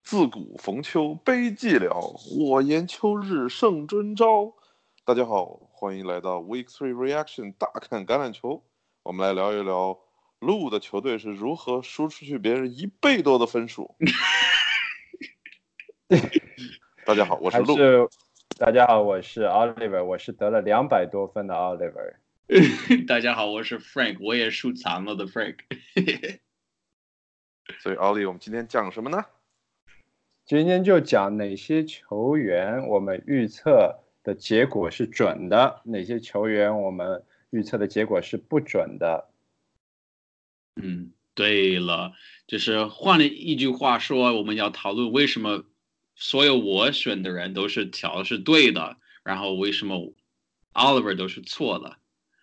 自古逢秋悲寂寥，我言秋日胜春朝。大家好，欢迎来到 Week 3 Reaction 大看橄榄球。我们来聊一聊鹿的球队是如何输出去别人1倍多的分数。大家好，我是鹿。 大家好，我是 Oliver， 我是得了200多分的 Oliver。 大家好，我是 Frank， 我也收藏了的 Frank。 所以 Ollie， 我们今天讲什么呢？ 今天就讲哪些球员我们预测的结果是准的，哪些球员我们预测的结果是不准的。 对了，就是换了一句话说，我们要讨论为什么所有我选的人都是调的是对的，然后为什么 Oliver 都是错的。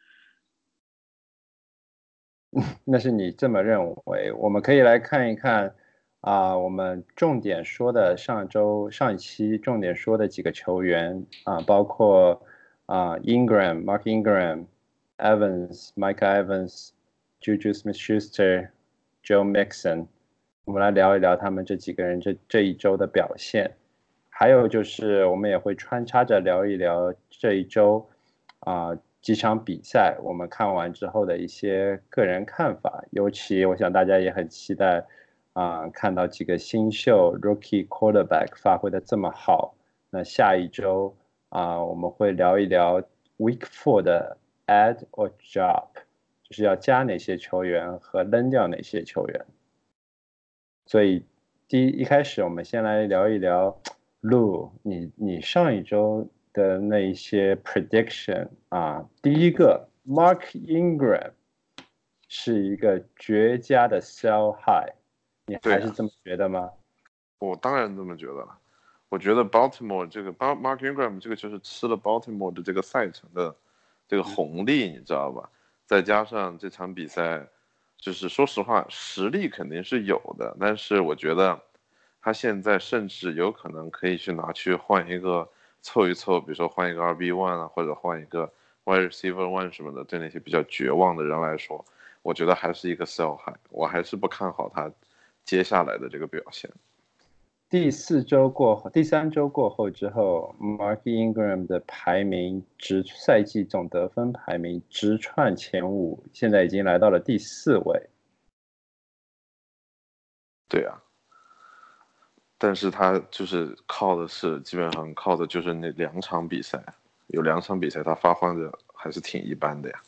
那是你这么认为，我们可以来看一看我们重点说的上一期重点说的几个球员包括Mark Ingram、Micah Evans、Juju Smith-Schuster、Joe Mixon， 我们来聊一聊他们这几个人这一周的表现。还有就是我们也会穿插着聊一聊这一周几场比赛我们看完之后的一些个人看法，尤其我想大家也很期待看到几个新秀 Rookie Quarterback 发挥的这么好。那下一周我们会聊一聊 Week 4的 Add or Drop， 就是要加哪些球员和扔掉哪些球员。所以一开始我们先来聊一聊 Lou， 你上一周的那一些 prediction 第一个 Mark Ingram 是一个绝佳的 sell high， 你还是这么觉得吗？ 我当然这么觉得了。我觉得 Baltimore 这个 Mark Ingram 这个就是吃了 Baltimore 的这个赛程的这个红利，你知道吧？再加上这场比赛，就是说实话实力肯定是有的，但是我觉得他现在甚至有可能可以去拿去换一个凑一凑，比如说换一个 RB1 或者换一个 Wide Receiver 1什么的，对那些比较绝望的人来说，我觉得还是一个 sell high， 我还是不看好他接下来的这个表现。 第3周过后之后 Mark Ingram 的排名赛季总得分排名直窜前5，现在已经来到了第4位。 对啊，但是他就是基本上靠的就是那2场比赛，有2场比赛他发挥的还是挺一般的呀。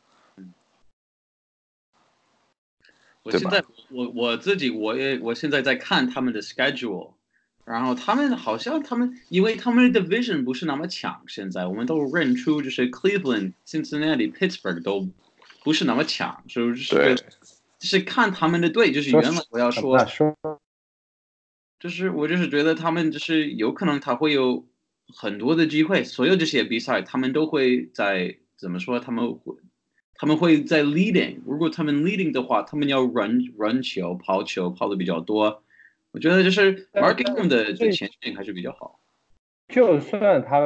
我现在我现在在看他们的 schedule， 然后他们好像因为他们的 division 不是那么强，现在我们都认出就是 Cleveland、Cincinnati、Pittsburgh 都不是那么强，所以就是看他们的队，就是原来我要说，就是我就是觉得他们就是有可能他会有很多的机会，所有这些比赛他们都会在怎么说他们会在 leading， 如果他们 leading 的话，他们要 run 球跑的比较多。我觉得就是 Mark Ingram 的前景还是比较好。 就算他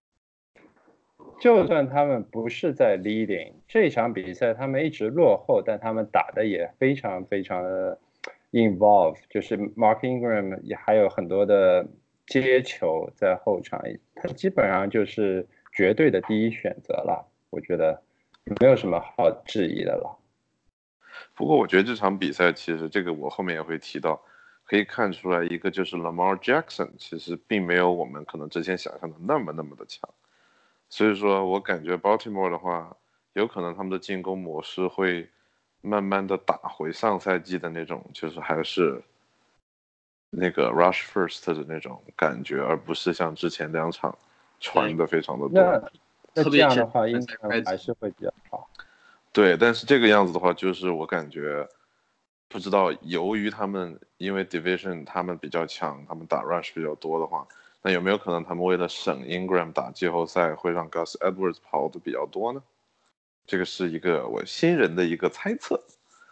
们不是在 leading， 这场比赛他们一直落后，但他们打的也非常非常的 involve， 就是 Mark Ingram 也还有很多的接球在后场，他基本上就是绝对的第一选择了，我觉得没有什么好质疑的了。 不过我觉得这场比赛其实这个我后面也会提到，可以看出来一个就是 Lamar Jackson 其实并没有我们可能之前想象的那么的强，所以说我感觉 Baltimore 的话，有可能他们的进攻模式会慢慢的打回上赛季的那种，就是还是那个 rush first 的那种感觉，而不是像之前2场传的非常的多。 那这样的话应该还是会比较好。 对，但是这个样子的话，就是我感觉不知道，由于他们因为 division 他们比较强，他们打 rush 比较多的话，那有没有可能他们为了省 Ingram 打季后赛，会让 Gus Edwards 跑的比较多呢？这个是一个我新人的一个猜测。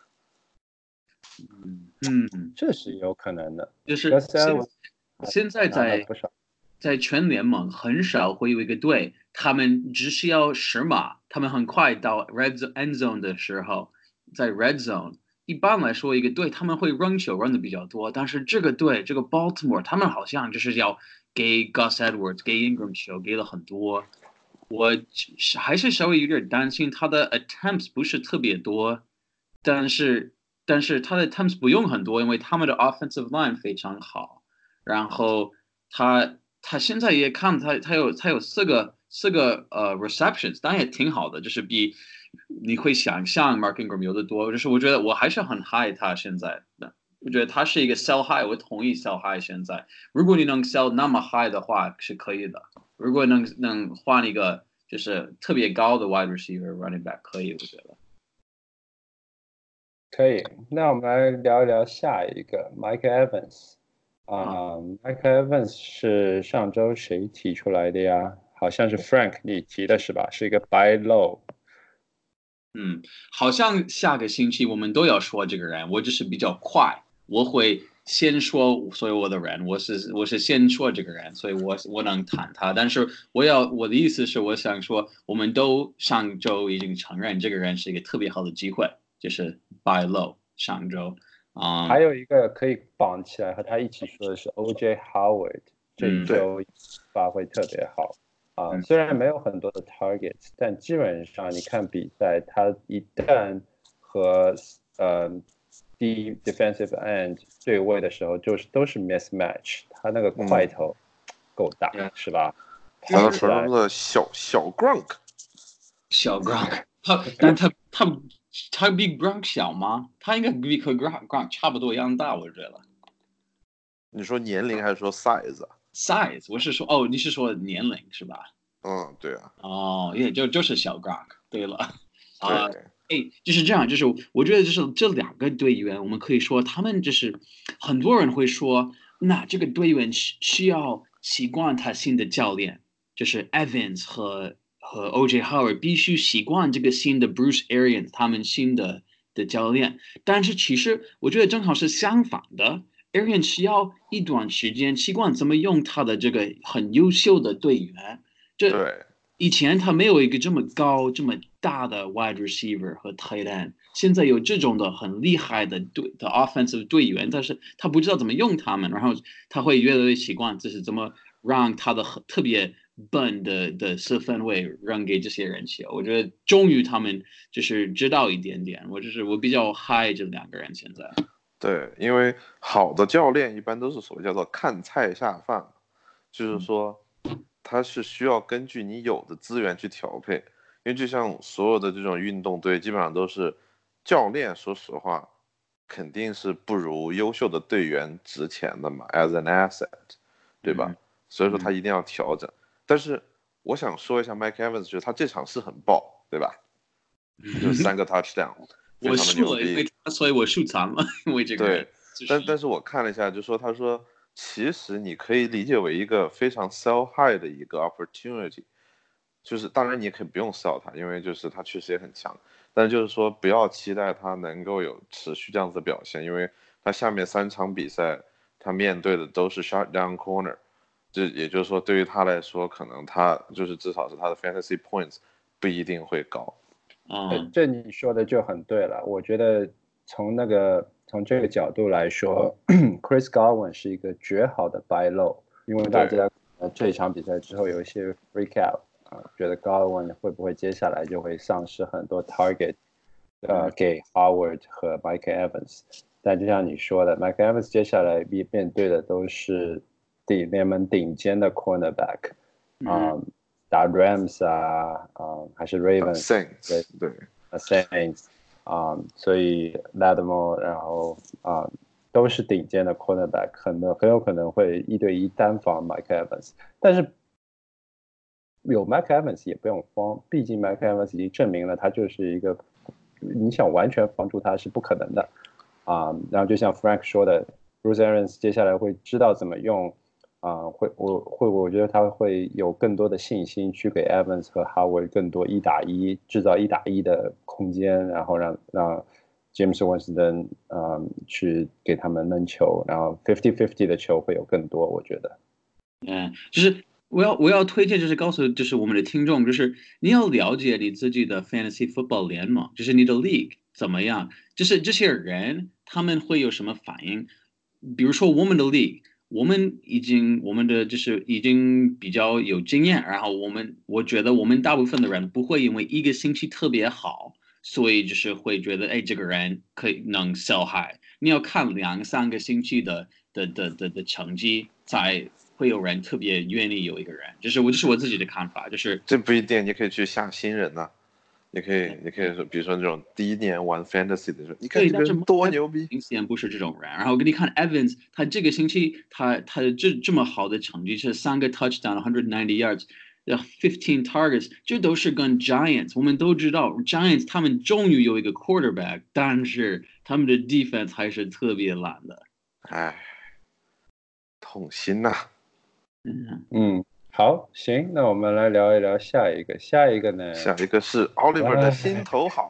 这是有可能的。 就是现在在全联盟很少会有一个队，他们只需要10码，他们很快到 end zone 的时候，在 red zone 一般来说一个队他们会扔球扔的比较多，但是这个队这个 Baltimore 他们好像就是要给 Gus Edwards 给 Ingram 球给了很多，我还是稍微有点担心他的 attempts 不是特别多，但是他的 attempts 不用很多，因为他们的 offensive line 非常好，然后他现在也看他有四个receptions，当然也挺好的，就是比你会想象 Mark Ingram 有的多，就是我觉得我还是很 high 他现在的，我觉得他是一个 sell high，我同意 sell high 现在，如果你能 sell 那么 high 的话是可以的，如果能换一个就是特别高的 wide receiver running back 可以，我觉得。 可以，那我们来聊一聊下一个 Mike Evans。Mike Evans 是上周谁提出来的呀？好像是 Frank 你提的是吧？是一个 buy low。 好像下个星期我们都要说这个人，我只是比较快，我会先说所有的人，我是先说这个人，所以我能谈他，但是我的意思是，我想说，我们都上周已经承认这个人是一个特别好的机会，就是 buy low 上周。 还有一个可以绑起来和他一起说的是 OJ Howard，这一周发挥特别好。虽然没有很多的 targets， 但基本上你看比赛，他一旦和defensive end 对位的时候，都是 mismatch， 他那个块头够大，是吧？ 他的形容的小 Gronk， 小 Gronk， 他比 Gronk 小吗？他应该比和 Gronk 差不多一样大，我觉得。 你说年龄还是说 size？size， 我是说，你是说年龄是吧？ 对啊。 也就是小 Gronk。对了，就是这样，就是我觉得就是这两个队员，我们可以说他们就是很多人会说，那这个队员需要习惯他新的教练，就是 Evans 和 OJ Howard 必须习惯这个新的 Bruce Arians 他们新的教练，但是其实我觉得正好是相反的。Arians 需要一段时间习惯怎么用他的这个很优秀的队员。 对， 以前他没有一个这么高、这么大的 wide receiver 和 tight end，现在有这种的很厉害的offensive 队员，但是他不知道怎么用他们，然后他会越来越习惯，就是怎么让他的特别笨的四分位让给这些人球。我觉得终于他们就是知道一点点，我比较 high 这两个人现在。 对，因为好的教练一般都是所谓叫做看菜下饭，就是说他是需要根据你有的资源去调配，因为就像所有的这种运动队基本上都是教练，说实话肯定是不如优秀的队员值钱的嘛 ，as an asset， 对吧？所以说他一定要调整。但是我想说一下 Mike Evans， 就是他这场是很爆，对吧？就3个 touchdown。 我输了，所以我输残了，因为这个人。 对，但是我看了一下，他说其实你可以理解为一个非常 sell high 的一个 opportunity， 就是当然你也可以不用 sell 他，因为就是他确实也很强，但就是说不要期待他能够有持续这样子的表现，因为他下面3场比赛他面对的都是 shutdown corner， 也就是说对于他来说，可能他就是至少是他的 fantasy points 不一定会高。 这你说的就很对了。我觉得从这个角度来说，Chris Godwin 是一个绝好的 buy low， 因为大家这一场比赛之后有一些 freak out，觉得 Godwin 会不会接下来就会丧失很多 target，给 Howard 和 Mike Evans。但就像你说的 ，Mike Evans 接下来面对的都是联盟顶尖的 cornerback，打 Rams 还是 Ravens， 对 Saints， 所以 Lattimore 然后都是顶尖的 cornerback， 很有可能会1对1单防 Mike Evans， 但是有 Mike Evans 也不用慌，毕竟 Mike Evans 已经证明了他就是一个你想完全防住他是不可能的然后就像 Frank 说的 Bruce Arians 接下来会知道怎么用我觉得他会有更多的信心去给 Evans 和 Howard 更多1打1制造1打1的空间，然后让James Winston 去给他们扔球，然后50-50的球会有更多，我觉得。 就是我要推荐，就是告诉就是我们的听众，就是你要了解你自己的 fantasy football 联盟，就是你的 league 怎么样，就是这些人他们会有什么反应。比如说我们的 league，我们的就是已经比较有经验，然后我觉得我们大部分的人不会因为一个星期特别好，所以就是会觉得哎这个人能 sell high。你要看2、3个星期的成绩，才会有人特别愿意有一个人。这是我自己的看法，就是这不一定，你可以去下新人呐、你可以说，比如说那种第一年玩 fantasy 的时候，你看对，但是这个人多牛逼， 明显不是这种人。然后给你看 Evans，他这个星期他这么好的成绩是3个 touchdown，190 yards。15 targets，这都是跟 Giants，我们都知道 Giants 他们终于有一个 quarterback，但是他们的 defense 还是特别烂的。 哎，痛心呐、 好，行，那我们来聊一聊下一个。下一个呢？ 下一个是 Oliver 的心头好。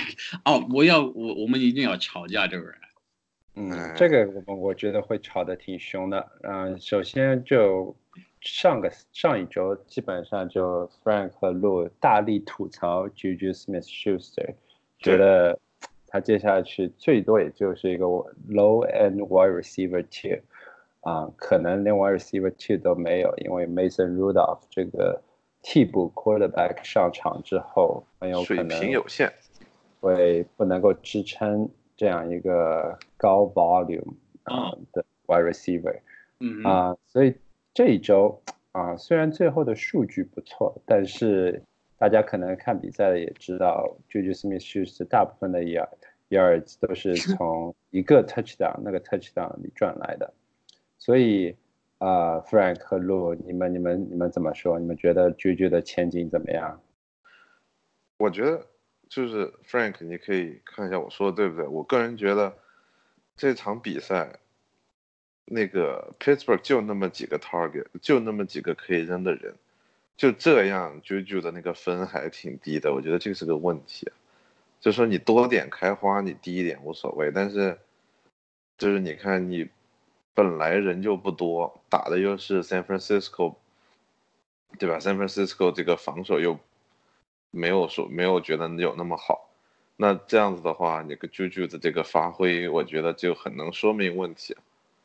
我们一定要吵架这个人。 这个我觉得会吵得挺凶的。首先就上一周基本上就 Frank 和 Lou 大力吐槽 Juju Smith-Schuster，觉得他接下去最多也就是一个 low end wide receiver 2。可能连 wide receiver 2都没有，因为 Mason Rudolph 这个替补 quarterback 上场之后，很有可能水平有限， 会不能够支撑这样一个高 volume 的 wide receiver。所以这一周虽然最后的数据不错，但是大家可能看比赛的也知道 Juju Smith-Schuster 大部分的 yards 都是从一个 touchdown 那个 touchdown 里赚来的。所以Frank 和 Lou，你们怎么说？你们觉得 Juju 的前景怎么样？ 我觉得就是 Frank，你可以看一下我说的对不对？我个人觉得这场比赛那个 Pittsburgh 就那么几个 target， 就那么几个可以扔的人，就这样 Juju 的那个分还挺低的，我觉得这是个问题。就说你多点开花，你低一点无所谓，但是就是你看你本来人就不多，打的又是 San Francisco， 对吧？ San Francisco 这个防守又没有觉得有那么好，那这样子的话，你个 Juju 的这个发挥，我觉得就很能说明问题。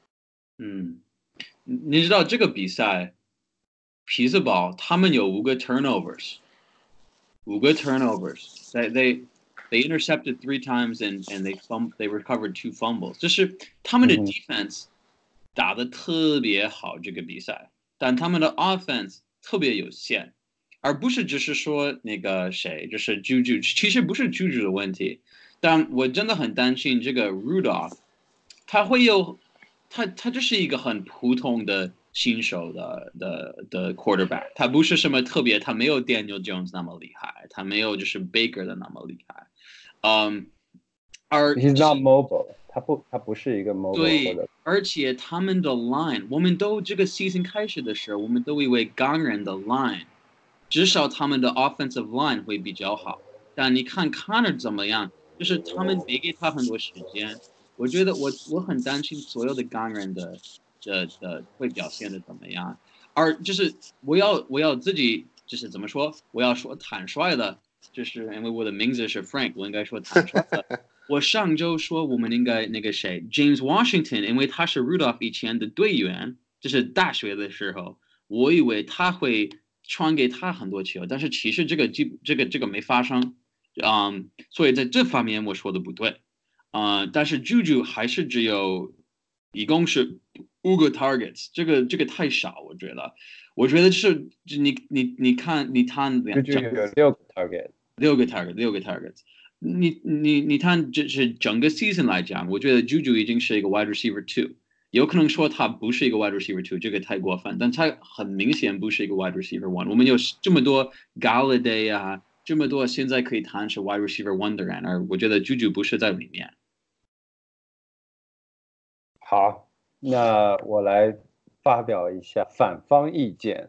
你知道这个比赛，匹兹堡他们有5个 turnovers，5个 turnovers，they intercepted 3 times and they recovered 2 fumbles，就是他们的 defense 打得特别好这个比赛，但他们的 offense 特别有限，而不是只是说那个谁，就是 Juju， 其实不是 Juju 的问题，但我真的很担心这个 Rudolph， 他会有他就是一个很普通的新手的 quarterback， 他不是什么特别，他没有 Daniel Jones 那么厉害，他没有就是 Baker 的那么厉害。而 He's not mobile， 他不是一个 mobile 对，而且他们的 line， 我们都这个 season 开始的时候，我们都以为钢人的 line， 至少他们的 offensive line 会比较好。但你看 Connor 怎么样，就是他们没给他很多时间。我觉得我很担心所有的钢人的会表现的怎么样。而就是我要自己就是怎么说，我要说坦率的，就是因为我的名字是 Frank， 我应该说坦率的。我上周说我们应该那个谁 James Washington， 因为他是 Rudolph 以前的队员，就是大学的时候，我以为他会传给他很多球，但是其实这个没发生。所以在这方面我说的不对。但是 Juju 还是只有一共是5个 targets， 这个太少，我觉得。我觉得就是你看 Juju 有6个 target， 6个 targets。你看，这是整个 season 来讲，我觉得 Juju 已经是一个 wide receiver 2，有可能说他不是一个 wide receiver 2，这个太过分，但他很明显不是一个 wide receiver 1。我们有这么多 Galladay 啊，这么多现在可以谈是 wide receiver 1的人，而我觉得 Juju 不是在里面。 好，那我来发表一下反方意见。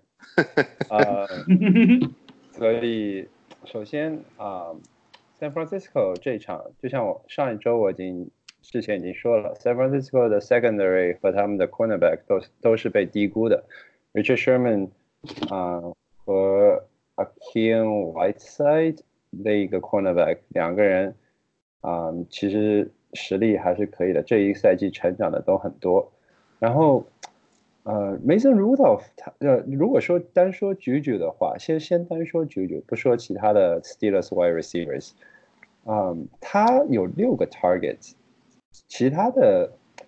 所以首先San Francisco 这场，就像我上一周之前已经说了 ，San Francisco 的 secondary 和他们的 cornerback 都是被低估的。Richard Sherman 和 Akeem Whiteside 那个 cornerback 两个人其实实力还是可以的，这一个赛季成长的都很多。然后Mason Rudolph 如果说单说 Juju 的话，先单说 Juju，不说其他的 Steelers wide receivers，他有6个 targets，其他的。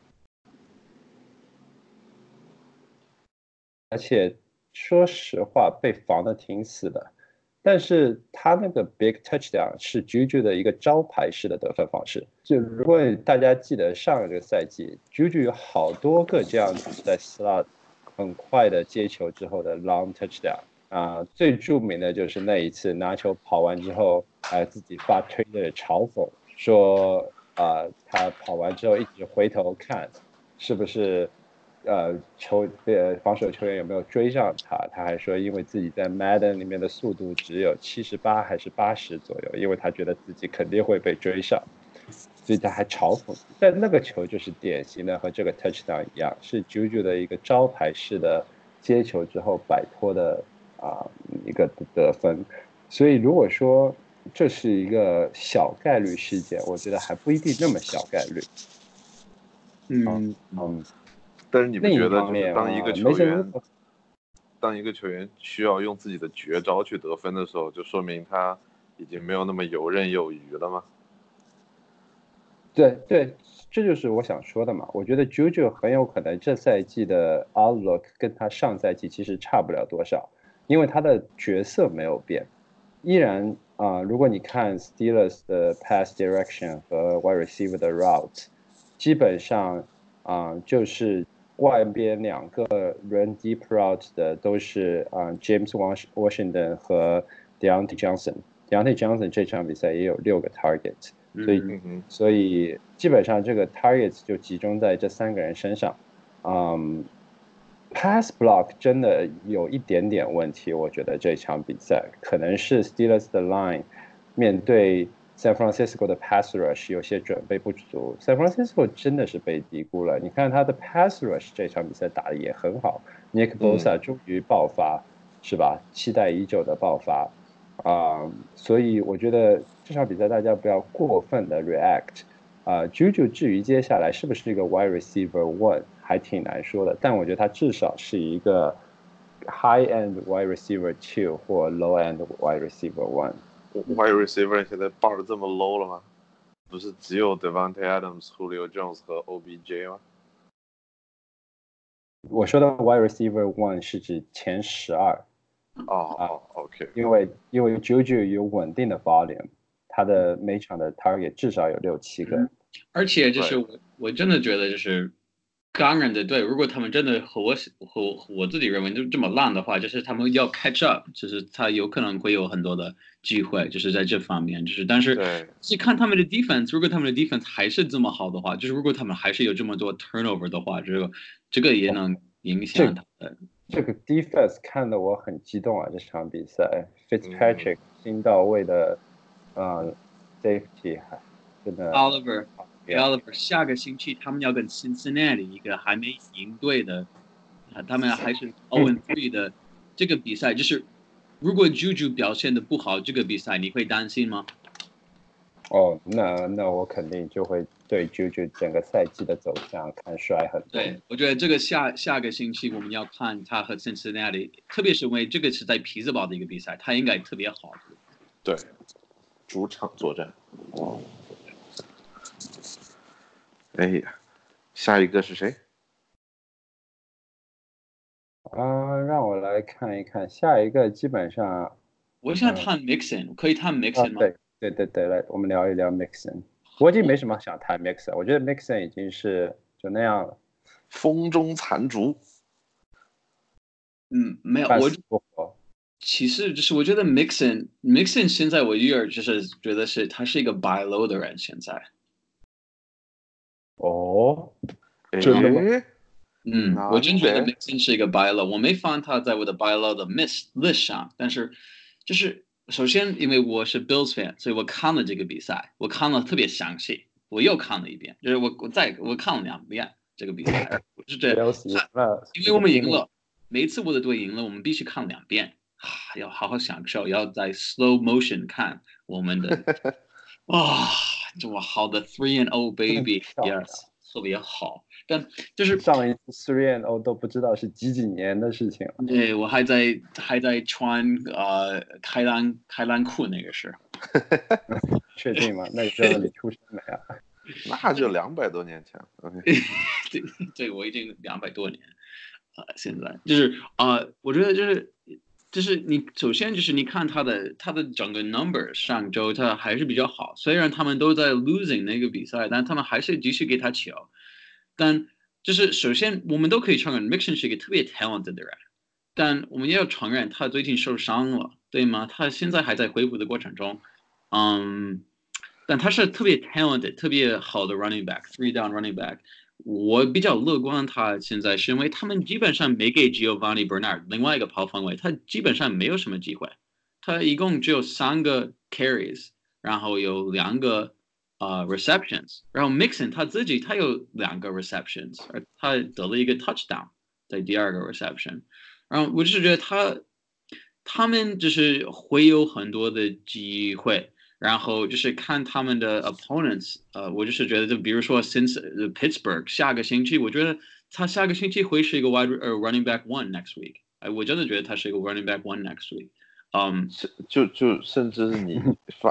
而且说实话，被防的挺死的。但是他那个 big touchdown 是 Juju 的一个招牌式的得分方式。就如果大家记得上一个赛季，Juju 有好多个这样子在 slot 很快的接球之后的 long touchdown 最著名的就是那一次拿球跑完之后，自己发推的嘲讽说他跑完之后一直回头看，是不是防守球员有没有追上他？他还说，因为自己在 Madden 里面的速度只有78还是80左右，因为他觉得自己肯定会被追上，所以他还嘲讽。但那个球就是典型的和这个 touchdown 一样，是 Juju 的一个招牌式的接球之后摆脱的一个得分。所以如果说这是一个小概率事件，我觉得还不一定那么小概率。 但是你不觉得就是当一个球员需要用自己的绝招去得分的时候，就说明他已经没有那么游刃有余了吗？ 对，这就是我想说的嘛。我觉得 Juju 很有可能这赛季的 outlook 跟他上赛季其实差不了多少，因为他的角色没有变，依然如果你看 Steelers 的 pass direction 和 wide receiver 的 route，基本上就是外边2个 run deep route 的都是James Washington 和 Deontay Johnson。Deontay Johnson 这场比赛也有6个 target。所以基本上这个 targets 就集中在这3个人身上。pass block 真的有一点点问题，我觉得这场比赛可能是 Steelers 的 line 面对 San Francisco 的 pass rush 有些准备不足。San Francisco 真的是被低估了，你看他的 pass rush 这场比赛打得也很好，Nick Bosa 终于爆发，是吧？期待已久的爆发。所以我觉得这场比赛大家不要过分的 react。Juju 至于接下来是不是一个 wide receiver one 还挺难说的，但我觉得他至少是一个 high end wide receiver two 或 low end wide receiver one。wide receiver 现在报的这么 low 了吗？不是只有 Devontae Adams、Julio Jones 和 OBJ 吗？ 我说的 wide receiver one 是指前12。 OK。 因为 Juju 有稳定的 volume， 他的每场的 target 至少有6-7个。 而且就是我真的觉得就是钢人的队，如果他们真的和我自己认为就这么烂的话，就是他们要 catch up， 就是他有可能会有很多的机会，就是在这方面，就是但是是看他们的 defense， 如果他们的 defense 还是这么好的话，就是如果他们还是有这么多 turnover 的话，这个也能影响他的。 这个 defense 看得我很激动啊！这场比赛 ，Fitzpatrick 新到位的safety 真的 Oliver 下个星期他们要跟 Cincinnati 一个还没赢队的，他们还是 0-3 的这个比赛，就是如果 Juju 表现的不好，这个比赛你会担心吗？ 那我肯定就会对 Juju 整个赛季的走向看衰很多。 对，我觉得这个下个星期我们要看他和 Cincinnati， 特别是因为这个是在匹兹堡的一个比赛，他应该特别好。 对，主场作战。哎呀，下一个是谁？ 让我来看一看，下一个基本上， 我想谈 Mixon，可以谈 Mixon 吗？ 对，来，我们聊一聊 Mixon。我已经没什么想谈 Mixon，我觉得 Mixon 已经是就那样了， 风中残烛。 没有，其实就是我觉得 Mixon 现在我就是觉得是他是一个 buy low 的人现在。 真的吗？ 我真觉得 Mixon 是一个 buy low， 我没放他在我的 buy low 的 list 上，但是就是首先因为我是 Bills fan， 所以我看了这个比赛，我看了特别详细，我又看了一遍，就是我看了2遍这个比赛，是这样，因为我们赢了。 每一次我的队赢了，我们必须看2遍要好好享受，要在 slow motion 看我们的这么好的 3-0 baby， yes， 特别好。但就是上一次 3-0 都不知道是几年的事情了。 对，我还在穿开裆裤那个时候。 确定吗？那个时候你出生没啊？ 那就200多年前。 对，我已经200多年。现在就是我觉得就是你首先就是你看他的整个 number 上周他还是比较好，虽然他们都在 losing 那个比赛，但他们还是继续给他球。但就是首先我们都可以承认 Mixon 是一个特别 talented 的人，但我们也要承认他最近受伤了，对吗？他现在还在恢复的过程中，但他是特别 talented 特别好的 running back 3 down running back。我比较乐观，他现在是因为他们基本上没给 Giovanni Bernard 另外一个跑锋位，他基本上没有什么机会，他一共只有3个 carries， 然后有2个receptions， 然后 Mixon 他自己他有2个 receptions， 而他得了一个 touchdown 在第2个 reception， 然后我就是觉得他们就是会有很多的机会。然后就是看他们的 opponents， 我就是觉得，就比如说 Pittsburgh 下个星期，我觉得他下个星期会是一个 running back 1 next week， 我真的觉得他是一个 running back 1 next week。 就甚至是你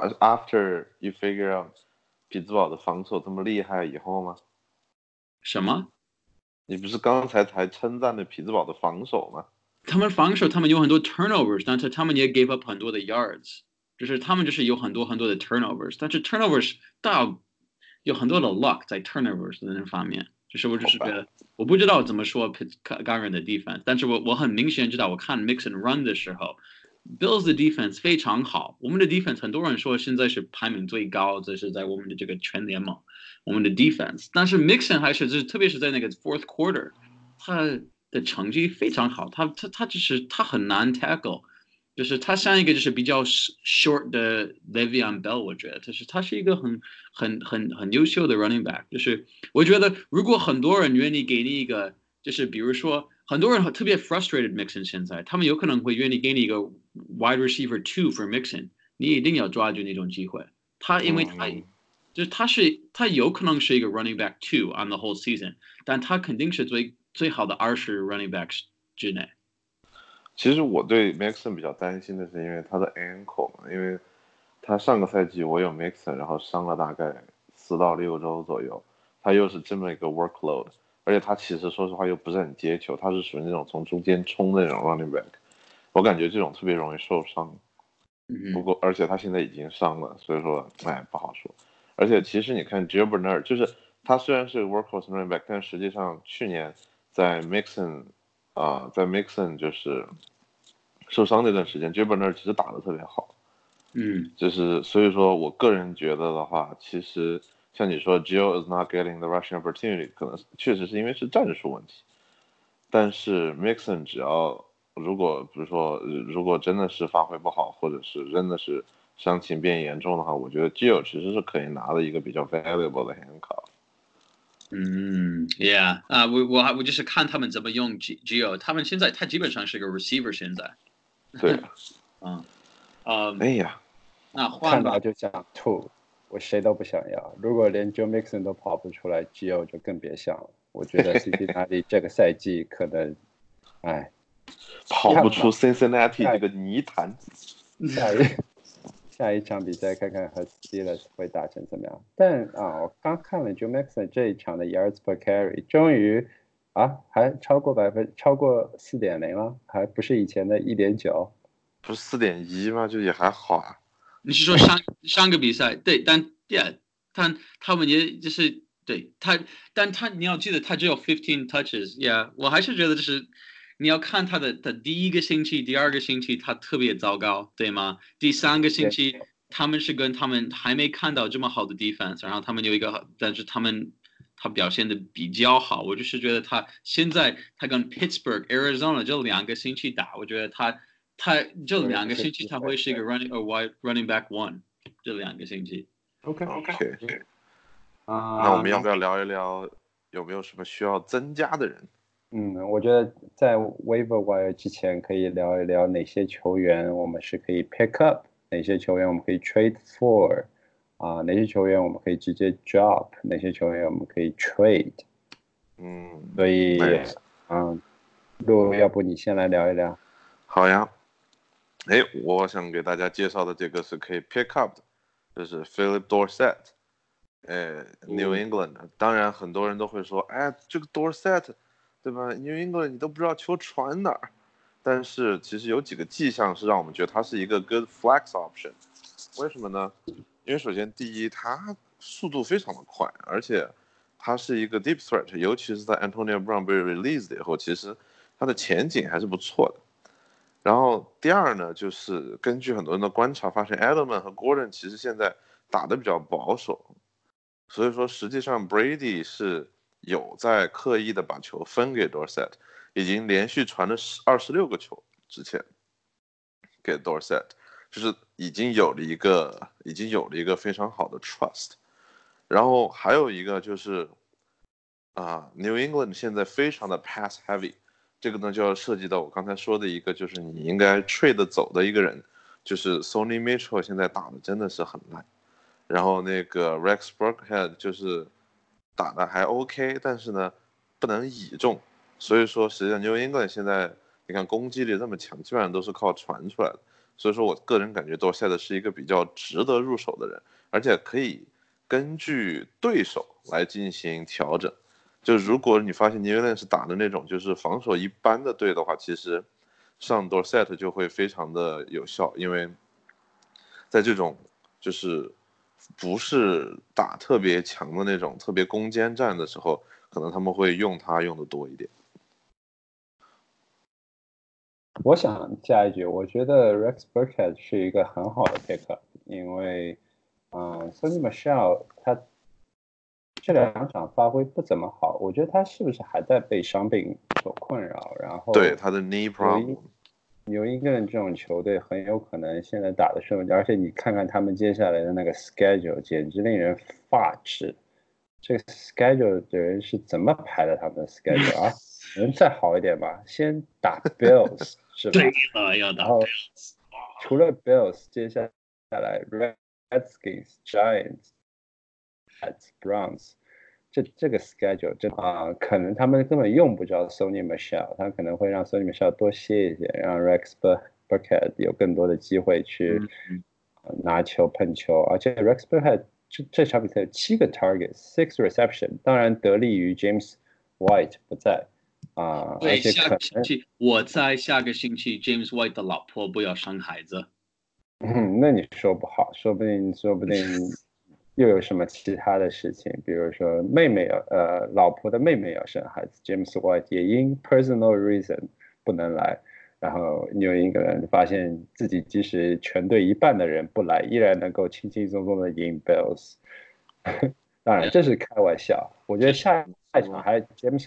after you figure out 匹兹堡的防守这么厉害以后吗？ 什么？ 你不是刚才才称赞了匹兹堡的防守吗？ 他们防守，他们有很多 turnovers， 但是他们也 gave up 很多的 yards。就是他们就是有很多的 turnovers， 但是 turnovers 有很多的 luck 在 turnovers 的那方面，就是我就是觉得我不知道怎么说刚人的 defense， 但是我很明显知道，我看 mix and run 的时候 ，Bills 的 defense 非常好，我们的 defense 很多人说现在是排名最高，这是在我们的这个全联盟，我们的 defense， 但是 Mixon 还是就是特别是在那个 fourth quarter， 他的成绩非常好，他就是他很难 tackle。就是他像一个就是比较 short 的 Le'Veon Bell， 我觉得他是一个很优秀的 running back。就是我觉得如果很多人愿意给你一个，就是比如说很多人特别 frustrated Mixon 现在，他们有可能会愿意给你一个 wide receiver 2 for Mixon， 你一定要抓住那种机会。因为就是他有可能是一个 running back 2 on the whole season， 但他肯定是最好的20 running backs 之内。 其实我对 Mixon 比较担心的是，因为他的 ankle 嘛，因为他上个赛季我有 Mixon， 然后伤了大概4到6周左右，他又是这么一个 workload， 而且他其实说实话又不是很接球，他是属于那种从中间冲的那种 running back， 我感觉这种特别容易受伤。不过而且他现在已经伤了，所以说不好说。而且其实你看 Gio Bernard， 就是他虽然是 workhorse running back， 但实际上去年在 Mixon 就是受伤那段时间 Gio Bernard 其实打得特别好。就是所以说我个人觉得的话，其实像你说 Gio is not getting the rushing opportunity， 可能确实是因为是战术问题。但是 Mixon 只要如果比如说如果真的是发挥不好，或者是真的是伤情变严重的话，我觉得 Gio 其实是可以拿的一个比较 valuable 的 handcuff。 Yeah， 我就是看他们怎么用 Gio， 他们现在他基本上是个 receiver 现在。 对。哎呀， 那换吧。 看到就想吐，我谁都不想要。如果连 Joe Mixon 都跑不出来 ，Gio 就更别想了。我觉得 Cincinnati 这个赛季可能， 跑不出 Cincinnati 这个泥潭。 下一场比赛看看和 Steelers 会打成怎么样。但我刚看了 Joe Mixon 这一场的 yards per carry， 终于还超过 4.0 了，还不是以前的 1.9。 不是 4.1 吗？就也还好啊。 你是说上个比赛？对，但他们也就是对但你要记得他只有15 touches， 我还是觉得就是你要看他的第一个星期、第2个星期他特别糟糕，对吗？第3个星期他们是跟他们还没看到这么好的 defense， 然后他们有一个，但是他表现的比较好。我就是觉得他现在他跟 Pittsburgh、Arizona 这2个星期打，我觉得他这2个星期他会是一个 running back 1， 这2个星期。 OK。那我们要不要聊一聊有没有什么需要增加的人？ 我觉得在 waiver wire 之前可以聊一聊哪些球员我们是可以 pick up， 哪些球员我们可以 trade for， 哪些球员我们可以直接 drop， 哪些球员我们可以 trade。所以路，要不你先来聊一聊？ 好呀。我想给大家介绍的这个是可以 pick up 的，就是 Philip Dorsett，New England。当然很多人都会说，这个 Dorsett， 对吧 ？New England 你都不知道球传哪儿。但是其实有几个迹象是让我们觉得他是一个 good flex option。为什么呢？因为首先第一，他速度非常的快，而且他是一个 deep threat， 尤其是在 Antonio Brown 被 released 以后，其实他的前景还是不错的。然后第二呢，就是根据很多人的观察发现 Edelman 和 Gordon 其实现在打得比较保守，所以说实际上 Brady 是有在刻意的把球分给 Dorsett， 已经连续传了26个球之前给 Dorsett， 就是已经有了一个非常好的 trust。然后还有一个就是New England 现在非常的 pass heavy， 这个呢就要涉及到我刚才说的一个，就是你应该 trade 走的一个人，就是 Sonny Mitchell 现在打的真的是很烂，然后那个 Rex Burkhead 就是打的还 OK， 但是呢不能倚重，所以说实际上 New England 现在你看攻击力这么强，基本上都是靠传出来的，所以说我个人感觉Dorsett是一个比较值得入手的人，而且可以根据对手来进行调整。就如果你发现 New England 是打的那种就是防守一般的队的话，其实上 Dorsett 就会非常的有效，因为在这种就是不是打特别强的那种特别攻坚战的时候，可能他们会用它用的多一点。 我想加一句，我觉得 Rex Burkhead 是一个很好的 pickup， 因为Sonny Michel 他这2场发挥不怎么好，我觉得他是不是还在被伤病所困扰？然后对他的 knee problem， New England 这种球队很有可能现在打的顺，而且你看看他们接下来的那个 schedule， 简直令人发指。这个 schedule 的人是怎么排的他们的 schedule 啊？能再好一点吧？先打 Bills 是吧？ 对，要打 Bills。 除了 Bills， 接下来 Redskins、Giants、Browns， 这个 schedule 真可能他们根本用不着 Sonny Michel， 他可能会让 Sonny Michel 多歇一些，让 Rex Burkhead 有更多的机会去拿球碰球，而且 Rex Burkhead 这场比赛有7个 target，6 reception， 当然得力于 James White 不在而且可能我在下个星期 James White 的老婆不要生孩子。 那你说不好，说不定又有什么其他的事情，比如说老婆的妹妹要生孩子 ，James White 也因 personal reason 不能来，然后New England发现自己即使全队一半的人不来，依然能够轻轻松松的赢 Bills。当然这是开玩笑，我觉得下一场还 James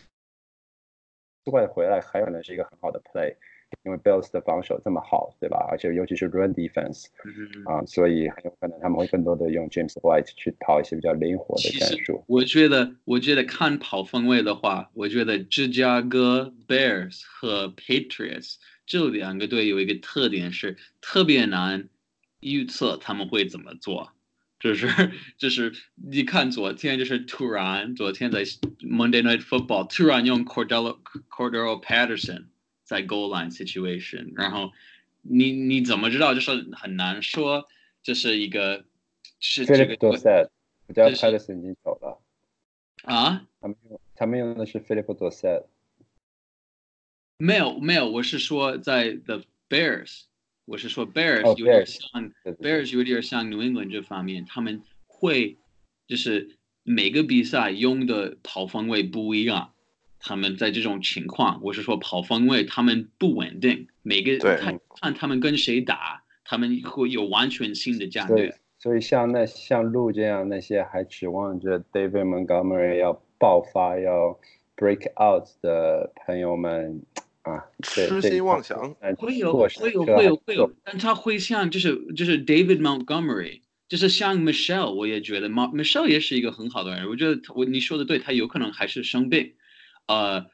White 回来还有可能是一个很好的 play。因为 Bills 的防守这么好，对吧？而且尤其是 run defense，所以很有可能他们会更多的用 James White 去跑一些比较灵活的战术。 我觉得看跑分位的话，我觉得芝加哥 Bears 和 Patriots 这2个队有一个特点是特别难预测他们会怎么做。就是你看昨天就是突然昨天在 Monday Night Football 突然用 Cordero Patterson。在 goal line situation， 然后你怎么知道？就是很难说，就是一个是这个。 Philip Dorsett， 我叫 Patterson 已经走了他们用的是 Philip Dorsett。 没有，我是说在 The Bears， 我是说 Bears 有点像 Bears 有点像 New England 这方面，他们会就是每个比赛用的跑分位不一样。他们在这种情况，我是说跑分位，他们不稳定，看他们跟谁打，他们会有完全新的战略。 所以像路这样那些还指望着 David Montgomery 要爆发要 break out 的朋友们痴心妄想。 会有，但他会像就是 David Montgomery， 就是像 Michel， 我也觉得 Michel 也是一个很好的人，我觉得你说的对，他有可能还是生病。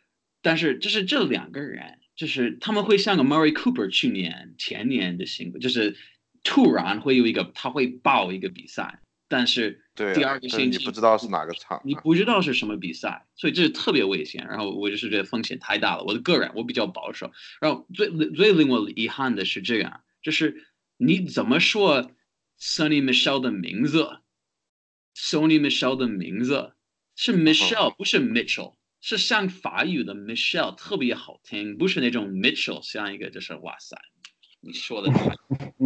但是就是这两个人，就是他们会像个 Murray Cooper 去年前年的性格，就是突然会有一个他会爆一个比赛，但是第二个星期你不知道是哪个场， 你不知道是什么比赛，所以这是特别危险。然后我就是觉得风险太大了。我的个人我比较保守。然后最令我遗憾的是这样，就是你怎么说 Sonny Michel 的名字 ？Sonny Michel 的名字是 Michel，不是 Mitchell。是像法语的 Michelle 特别好听，不是那种 Mitchell 像一个就是哇塞，你说的太，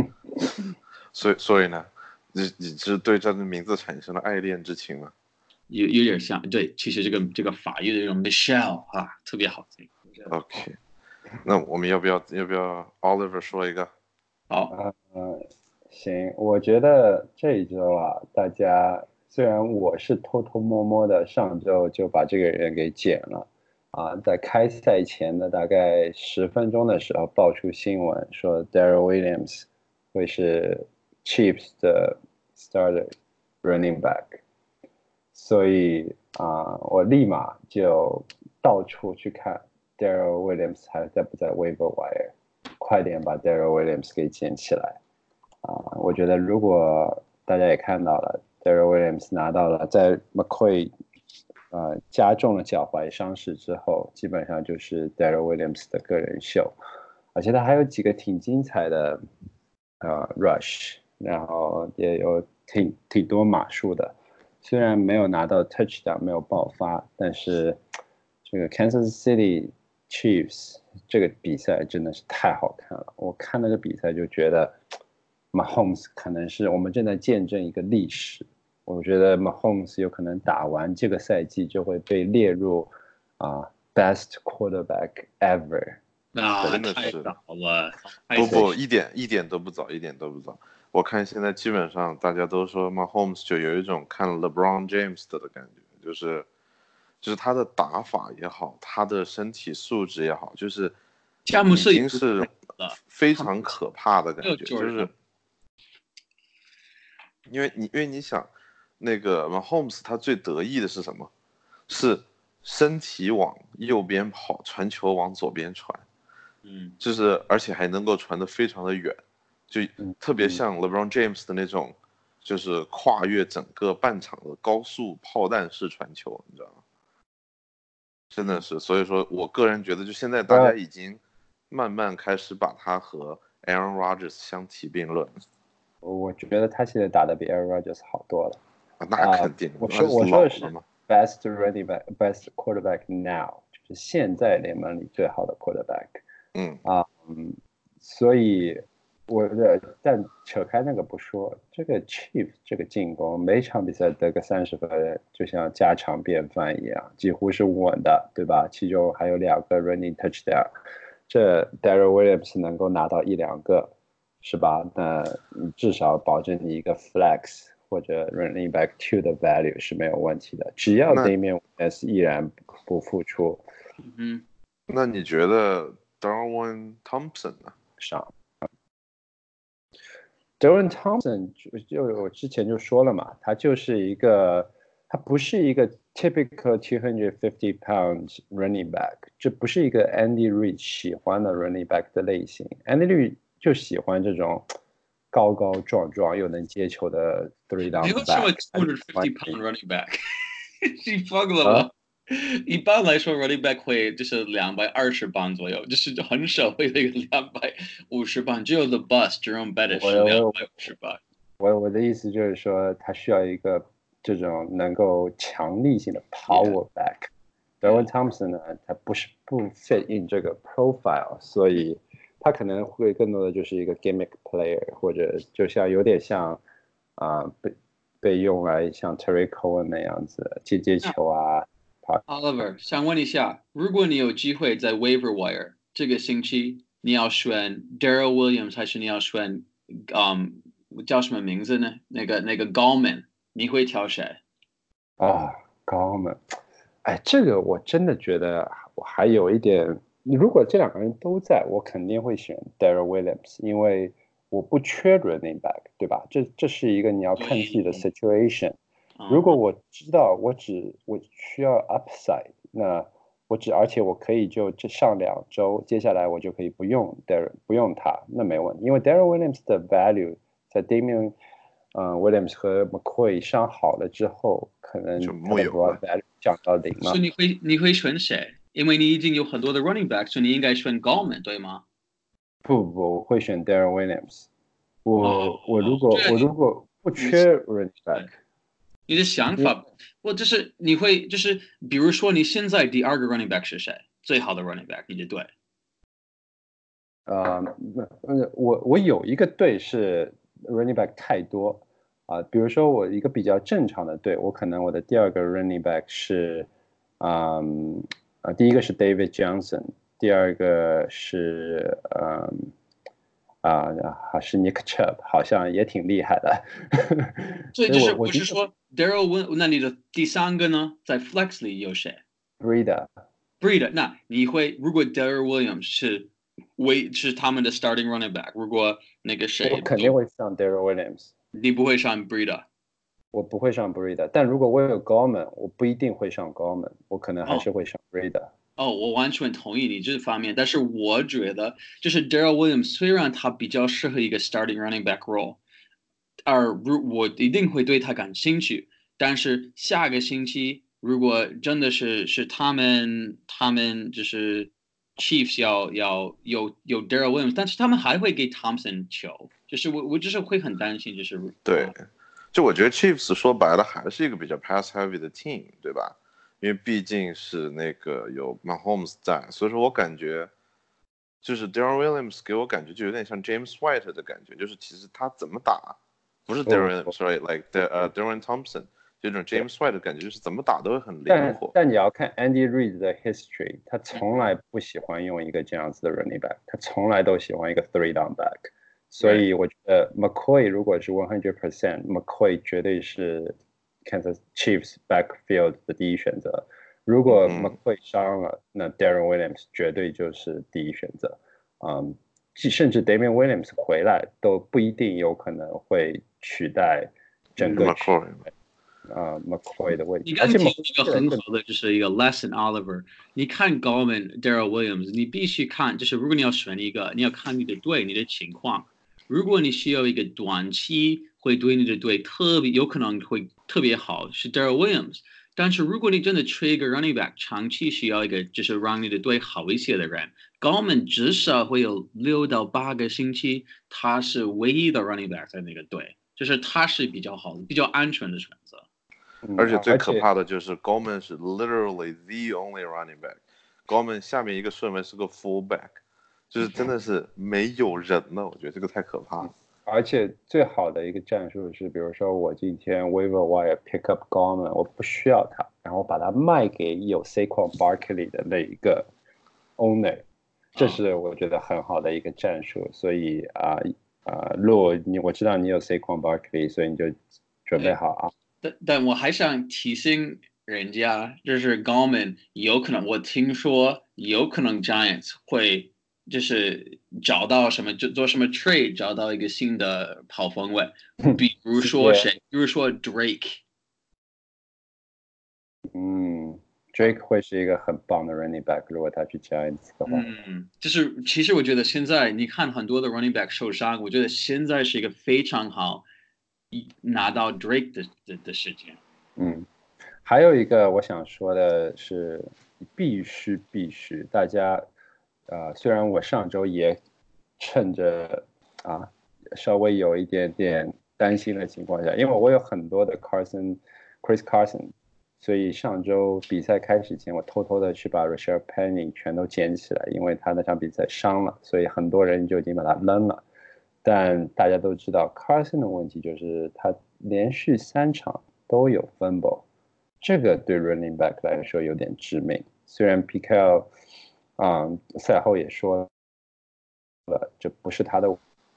所以呢，你是对这个名字产生了爱恋之情吗？ 有点像，对，其实这个法语的这种 Michelle 啊，特别好听。 OK， 那我们要不要 Oliver 说一个？ 好， 行，我觉得这一周啊，大家虽然我是偷偷摸摸的上周就把这个人给剪了，在开赛前的大概10分钟的时候爆出新闻说 Darrell Williams 会是 Chiefs 的 starter running back，所以我立马就到处去看 Darrell Williams 还在不在 waiver wire， 快点把 Darrell Williams 给捡起来。我觉得如果大家也看到了 Darrell Williams 拿到了在 McCoy 加重了脚踝伤势之后，基本上就是 Darrell Williams 的个人秀，而且他还有几个挺精彩的rush， 然后也有挺多码数的，虽然没有拿到 touchdown 没有爆发，但是这个 Kansas City Chiefs 这个比赛真的是太好看了，我看那个比赛就觉得Mahomes 可能是我们正在见证一个历史，我觉得 Mahomes 有可能打完这个赛季就会被列入best quarterback ever。 真的是太早了， 不，一点都不早，一点都不早。我看现在基本上大家都说 Mahomes 就有一种看 LeBron James 的感觉，就是他的打法也好，他的身体素质也好，就是已经是非常可怕的感觉，就是因为你想，那个 Mahomes 他最得意的是什么？是身体往右边跑，传球往左边传，就是而且还能够传得非常的远，就特别像 LeBron James 的那种，就是跨越整个半场的高速炮弹式传球，你知道吗？真的是，所以说我个人觉得，就现在大家已经慢慢开始把他和 Aaron Rodgers 相提并论。 我觉得他现在打得比 Aaron Rodgers 好多了。 那肯定。 我说的是 best running back, best quarterback now， 就是现在联盟里最好的 quarterback。所以但扯开那个不说，这个 Chiefs 这个进攻每场比赛得个30分，就像家常便饭一样，几乎是稳的，对吧？其中还有2个 running touchdown， 这 Darrell Williams 能够拿到1-2个，是吧？那至少保证你一个 flex 或者 running back 2的 value 是没有问题的，只要对面 S 依然不付出。 那你觉得 Darwin Thompson 呢？ 上 Darwin Thompson 就我之前就说了嘛，他不是一个 typical 250 pounds running back， 这不是一个 Andy Reid 喜欢的 running back 的类型。Andy Reid 就喜欢这种高高壮壮又能接球的 three down back。 没有什么250 pound running back， 你疯了吗？一般来说 running back 会就是220磅左右，就是很少会有一个250磅，只有 the bus Jerome Bettis 是250磅。 我的意思就是说，他需要一个这种能够强力性的 power back。Darwin Thompson 呢，他不 fit in 这个 profile， 所以他可能会更多的就是一个 gimmick player， 或者就像有点像被用来像 Terry Cohen 那样子接球啊。 Oliver， 想问一下，如果你有机会在 waiver wire 这个星期，你要选 Darrell Williams 还是你要选叫什么名字呢？那个 Gallman， 你会挑谁 ？Gallman， 哎，这个我真的觉得我还有一点，如果这2个人都在，我肯定会选 Darrell Williams， 因为我不缺 running back， 对吧？这是一个你要看自己的 situation。如果我知道我需要 upside， 那而且我可以就这上2周，接下来我就可以不用他，那没问题，因为 Darrell Williams 的 value 在 Damian Williams 和 McCoy 伤好了之后，可能就他的 broad value 降到0了。 所以你会选谁？因为你已经有很多的 running back， 所以你应该选 Gallman 对吗？ 不，我会选 Darrell Williams。我如果不缺 running back， 你的想法，就是你会就是比如说你现在第2个 running back 是谁？最好的 running back 你的队？ 我有一个队是 running back 太多比如说我一个比较正常的队，我可能我的第2个 running back 是第一个是 David Johnson， 第2个是是 Nick Chubb， 好像也挺厉害的。 所以就是我是说 Darrell Williams， 那你的第3个呢？在 Flex 里有谁 ？Breida， 那你会如果 Darrell Williams 是他们的 starting running back， 如果那个谁， 我肯定会上 Darrell Williams， 你不会上 Breida。 我不会上 Breida， 但如果我有 Gallman， 我不一定会上 Gallman， 我可能还是会上 Breida。 我完全同意你这方面，但是我觉得就是 Darrell Williams 虽然他比较适合一个 starting running back role， 我一定会对他感兴趣，但是下个星期如果真的是他们就是 Chiefs 要有 Darrell Williams， 但是他们还会给 Thompson 球，就是我就是会很担心，就是对，就我觉得 Chiefs 说白了还是一个比较 pass heavy 的 team， 对吧？因为毕竟是那个有 Mahomes 在，所以说我感觉就是 Darrell Williams 给我感觉就有点像 James White 的感觉，就是其实他怎么打，不是 Darrell Williams，sorry，like Darren Thompson 这种 James White 的感觉，就是怎么打都会很灵活。 但你要看 Andy Reid 的 history， 他从来不喜欢用一个这样子的 running back， 他从来都喜欢一个 3 down back， 所以我觉得 McCoy 如果是 100%，McCoy 绝对是 Kansas Chiefs backfield 的第一选择。如果 McCoy 伤了，那 Darren Williams 绝对就是第一选择。甚至 Damian Williams 回来都不一定有可能会取代整个 McCoy 的位置。 你刚提一个很好的，就是一个 Lesson Oliver。你看 Gallman、Darrell Williams， 你必须看，就是如果你要选一个，你要看你的队、你的情况。如果你需要一个短期会对你的队有可能会特别好，是 Darrell Williams。但是如果你真的缺一个 running back， 长期需要一个就是让你的队好一些的人 ，Gallman 至少会有6到8个星期，他是唯一的 running back 在那个队，就是他是比较好的、比较安全的选择。 而且最可怕的就是 Gallman 是 literally the only running back，Gallman 下面一个顺位是个 fullback， 就是真的是没有人了，我觉得这个太可怕了。 而且最好的一个战术是，比如说我今天 waiver wire pick up Gallman， 我不需要他，然后把他卖给有 Saquon Barkley 的那一个 owner， 这是我觉得很好的一个战术。所以我知道你有 Saquon Barkley， 所以你就准备好啊。 但我还想提醒人家，就是 Gallman 有可能，我听说有可能 Giants 会就是找到什么，就做什么 trade， 找到一个新的跑锋位，比如说谁？比如说 Drake。 Drake 会是一个很棒的 running back， 如果他去 Giants 的话。 就是其实我觉得现在你看很多的 running back 受伤，我觉得现在是一个非常好拿到 Drake 的时间。 还有一个我想说的是，必须大家虽然我上周也趁着稍微有一点点担心的情况下，因为我有很多的 Chris Carson， 所以上周比赛开始前，我偷偷的去把 Rashard Penny 全都捡起来，因为他那场比赛伤了，所以很多人就已经把他扔了。但大家都知道 Carson 的问题就是他连续3场都有 fumble， 这个对 running back 来说有点致命。虽然 Piquet 赛后也说了，这不是他的，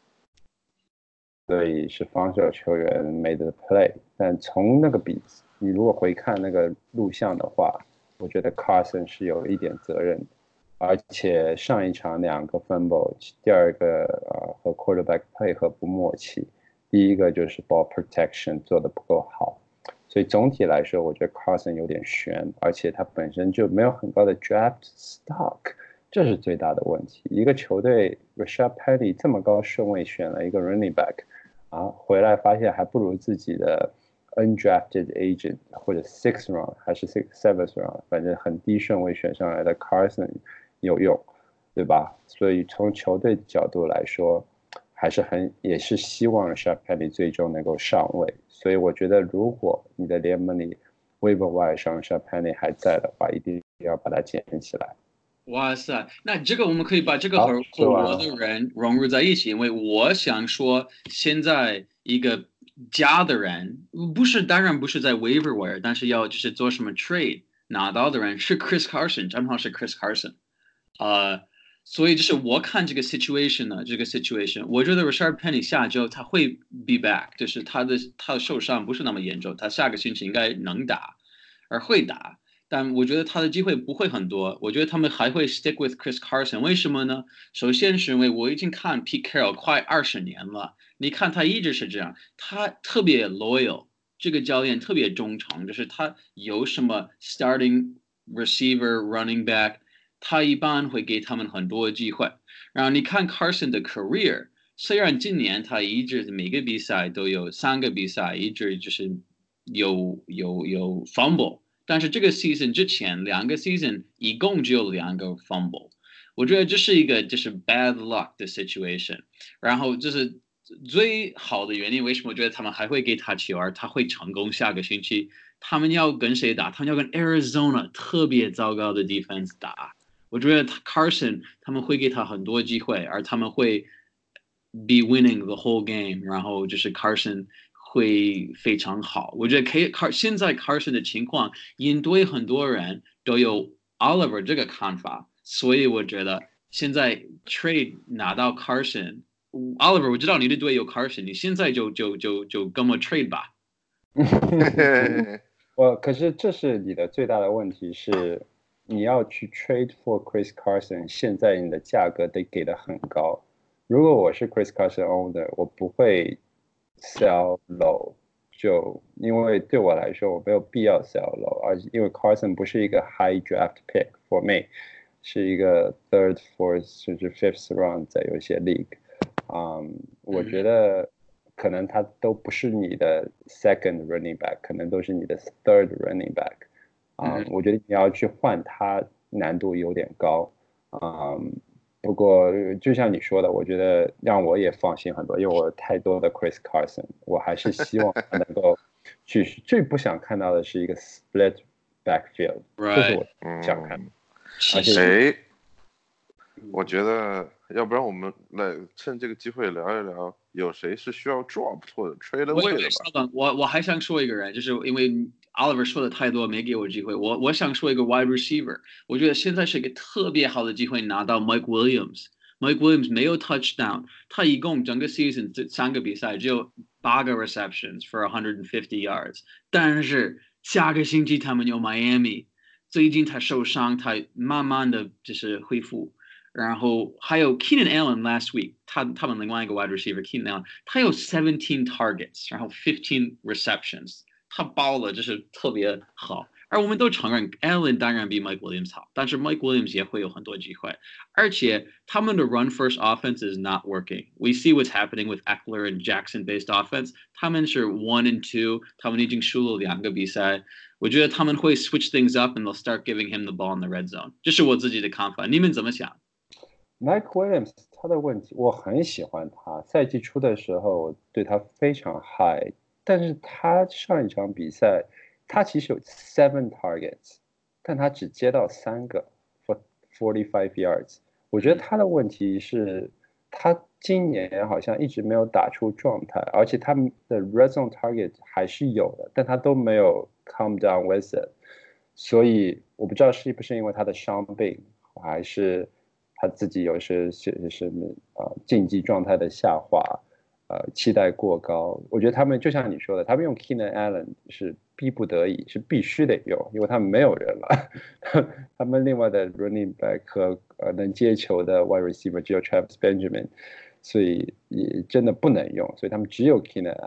所以是防守球员 made the play。但从那个你如果回看那个录像的话，我觉得 Carson 是有一点责任的。而且上一场2个 fumble， 第2个和 quarterback 配合不默契，第一个就是 ball protection 做得不够好， 所以总体来说，我觉得 Carson 有点悬，而且他本身就没有很高的 draft stock，这是最大的问题。一个球队 Rashad Penny 这么高顺位选了一个 running back，回来发现还不如自己的 undrafted agent 或者 sixth round 还是 seventh round， 反正很低顺位选上来的 Carson 有用，对吧？所以从球队角度来说，也是希望 Rashad Penny 最终能够上位。所以我觉得，如果你的联盟里 waiver wire 上 Rashad Penny 还在的话，一定要把它捡起来。 哇塞，那这个我们可以把这个和我的人融入在一起，因为我想说，现在一个加的人当然不是在 waiver wire， 但是要就是做什么 trade 拿到的人是 Chris Carson， 正好是 Chris Carson，所以就是我看这个 situation 呢，我觉得 Rashad Penny 下周他会 be back， 就是他的受伤不是那么严重，他下个星期应该能打，而会打。但我觉得他的机会不会很多，我觉得他们还会 stick with Chris Carson， 为什么呢？首先是因为我已经看 Pete Carroll 快20年了，你看他一直是这样，他特别 loyal， 这个教练特别忠诚，就是他有什么 starting receiver running back， 他一般会给他们很多机会。然后你看 Carson 的 career， 虽然今年他一直每个比赛都有3个比赛一直就是有 fumble。但是这个 season 之前2个 season 一共只有2个 fumble， 我觉得这是一个就是 bad luck 的 situation。然后这是最好的原因，为什么我觉得他们还会给他球，而他会成功下个星期？他们要跟谁打？他们要跟 Arizona 特别糟糕的 defense 打。我觉得Carson 他们会给他很多机会，而他们会 be winning the whole game。然后就是 Carson。会非常好，我觉得现在 Carson 的情况，因对很多人都有 Oliver 这个看法，所以我觉得现在 trade 拿到 Carson，Oliver 我知道你的队有 Carson， 你现在就跟我 trade 吧。 可是这是你的最大的问题是，你要去 trade for Chris Carson， 现在你的价格得给的很高。如果我是 Chris Carson owner， 我不会sell low， 就因为对我来说我没有必要 sell low， 而因为 Carson 不是一个 high draft pick for me， 是一个 third fourth 甚至 fifth round 在有些 league， 我觉得可能他都不是你的 second running back， 可能都是你的 third running back， 我觉得你要去换他难度有点高，不过就像你说的，我觉得让我也放心很多，因为我有太多的 Chris Carson， 我还是希望他能够去。最不想看到的是一个 split backfield， 这是我想看的。而且， 我觉得要不然我们来趁这个机会聊一聊，有谁是需要 drop 或者 trade away 的吧？ 我还想说一个人，就是因为 Oliver 说的太多，没给我机会。我想说一个 wide receiver， 我觉得现在是一个特别好的机会拿到 Mike Williams。Mike Williams 没有 touchdown， 他一共整个 season 3个比赛只有8个 receptions for 150 yards， 但是下个星期他们有 Miami， 最近他受伤，他慢慢的就是恢复。然后还有 Keenan Allen last week， 他们另外一个 wide receiver Keenan Allen， 他有17 targets， 然后15 receptions， 他包了，就是特别好。而我们都承认 Allen 当然比 Mike Williams 好，但是 Mike Williams 也会有很多机会。而且他们的 run first offense is not working. We see what's happening with Eckler and Jackson based offense. 他们是 1 and 2， 他们已经输了2个比赛。我觉得他们会 switch things up and they'll start giving him the ball in the red zone。这是我自己的看法，你们怎么想 ？Mike Williams 他的问题，我很喜欢他。赛季初的时候，我对他非常 high， 但是他上一场比赛，他其实有7 targets， 但他只接到3个 for 45 yards。我觉得他的问题是，他今年好像一直没有打出状态，而且他的 red zone target 还是有的，但他都没有 come down with it。所以我不知道是不是因为他的伤病，还是他自己有些竞技状态的下滑，期待过高。我觉得他们就像你说的，他们用 Keenan Allen 是逼不得已，是必须得用，因为他们没有人了。他们另外的 running back 和能接球的 wide receiver 只有 Travis Benjamin， 所以也真的不能用，所以他们只有 Keenan Allen。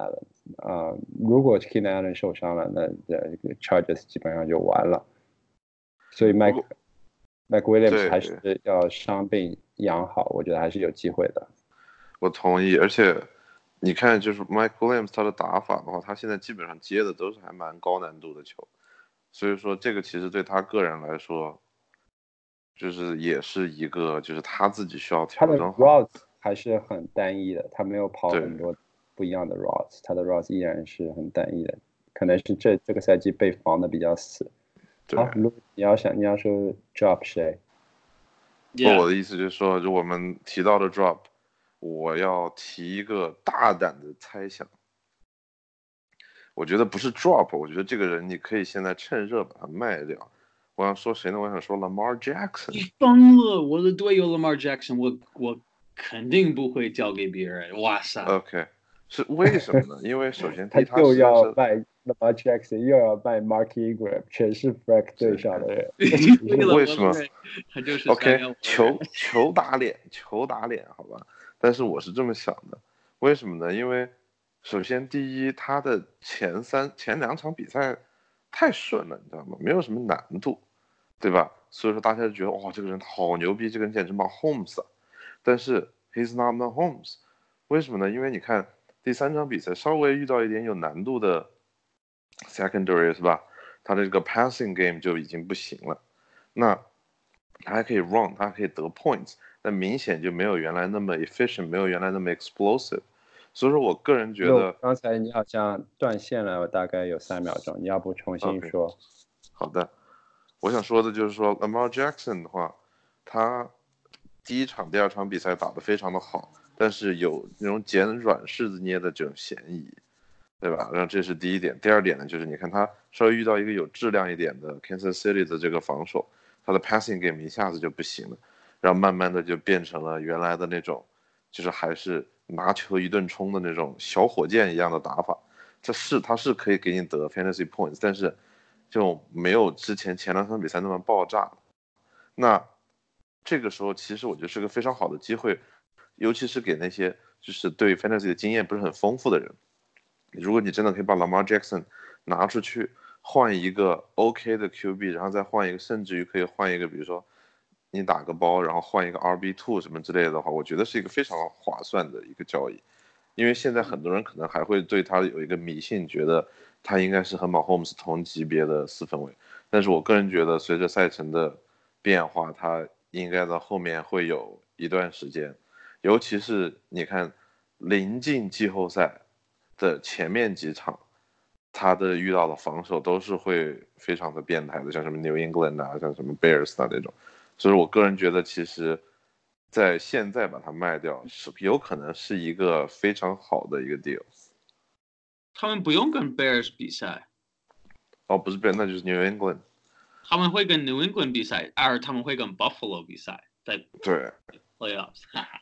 如果 Keenan Allen 受伤了，那这个 Chargers 基本上就完了。所以 Mike Williams 还是要伤病养好，我觉得还是有机会的。 我同意，而且你看，就是 Mike Williams 他的打法的话，他现在基本上接的都是还蛮高难度的球，所以说这个其实对他个人来说，就是也是一个就是他自己需要调整好。 他的 routes 还是很单一的，他没有跑很多不一样的 routes， 他的 routes 依然是很单一的，可能是这个赛季被防的比较死。好，你要说 drop 谁？ 我的意思就是说，就我们提到的 drop， 我要提一个大胆的猜想。我觉得不是 drop， 我觉得这个人你可以现在趁热把他卖掉。我想说谁呢？我想说 Lamar Jackson。 你疯了！我的队友 Lamar Jackson， 我肯定不会交给别人。哇塞 ！OK， 是为什么呢？因为首先他又要卖 Lamar Jackson， 又要卖 Mark Ingram， 全是 Frank 队上的人。 为什么？ 他就是 OK， 球打脸，好吧。但是我是这么想的，为什么呢？因为首先第一，他的前两场比赛太顺了，你知道吗？没有什么难度，对吧？所以说大家就觉得哇，这个人好牛逼，这个人简直Mahomes啊。但是 he's not Mahomes， 为什么呢？因为你看第3场比赛稍微遇到一点有难度的 secondary 是吧？他的这个 passing game 就已经不行了。那他还可以 run， 他还可以得 points， 但明显就没有原来那么 efficient， 没有原来那么 explosive。所以说我个人觉得， 刚才你好像断线了，我大概有3秒钟，你要不重新说？ Okay. 好的，我想说的就是说 Lamar Jackson 的话，他第1场、第2场比赛打得非常的好，但是有那种捡软柿子捏的这种嫌疑，对吧？然后这是第一点。第二点呢，就是你看他稍微遇到一个有质量一点的 Kansas City 的这个防守，他的 passing game 一下子就不行了，然后慢慢的就变成了原来的那种，就是还是拿球一顿冲的那种小火箭一样的打法。他是可以给你得 fantasy points， 但是就没有之前2场比赛那么爆炸。那这个时候其实我觉得是个非常好的机会，尤其是给那些就是对 fantasy 的经验不是很丰富的人。如果你真的可以把 Lamar Jackson 拿出去换一个 OK 的 QB， 然后再换一个，甚至于可以换一个，比如说你打个包，然后换一个 RB2 什么之类的话，我觉得是一个非常划算的一个交易。因为现在很多人可能还会对他有一个迷信，觉得他应该是和 Mahomes 同级别的4分卫，但是我个人觉得随着赛程的变化，他应该在后面会有一段时间，尤其是你看临近季后赛的前面几场，他的遇到的防守都是会非常的变态的，像什么 New England 啊，像什么 Bears 啊那种，所以我个人觉得其实在现在把它卖掉是有可能是一个非常好的一个 deal。 他们不用跟 Bears 比赛。 哦，不是 Bears， 那就是 New England。 他们会跟 New England 比赛，而他们会跟 Buffalo 比赛，在对 playoffs。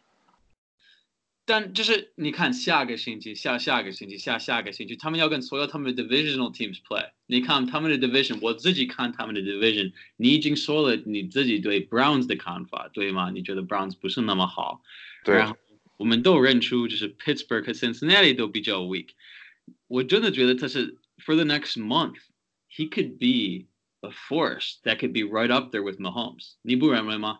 但就是你看下个星期、下个星期、下个星期，他们要跟所有他们的 divisional teams play。你看他们的 division， 我自己看他们的 division， 你已经说了你自己对 Browns 的看法，对吗？你觉得 Browns 不是那么好， 对。 然后我们都认出就是 Pittsburgh 和 Cincinnati 都比较 weak。我真的觉得他是 for the next month he could be a force that could be right up there with Mahomes。你不认为吗？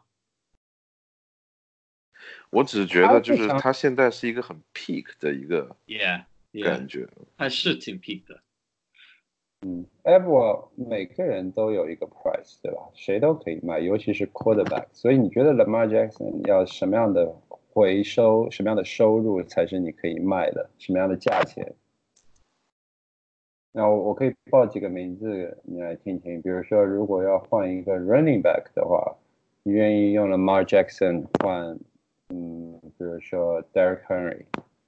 我只是觉得就是他现在是一个很 peak 的一个感觉。 他是挺 peak 的。 我每个人都有一个 price， 对吧？谁都可以卖，尤其是 quarterback。所以你觉得 Lamar Jackson 要什么样的回收、什么样的收入才是你可以卖的？什么样的价钱？那我可以报几个名字你来听听。比如说，如果要换一个 running back 的话，你愿意用 Lamar Jackson 换，比如说 Derrick Henry。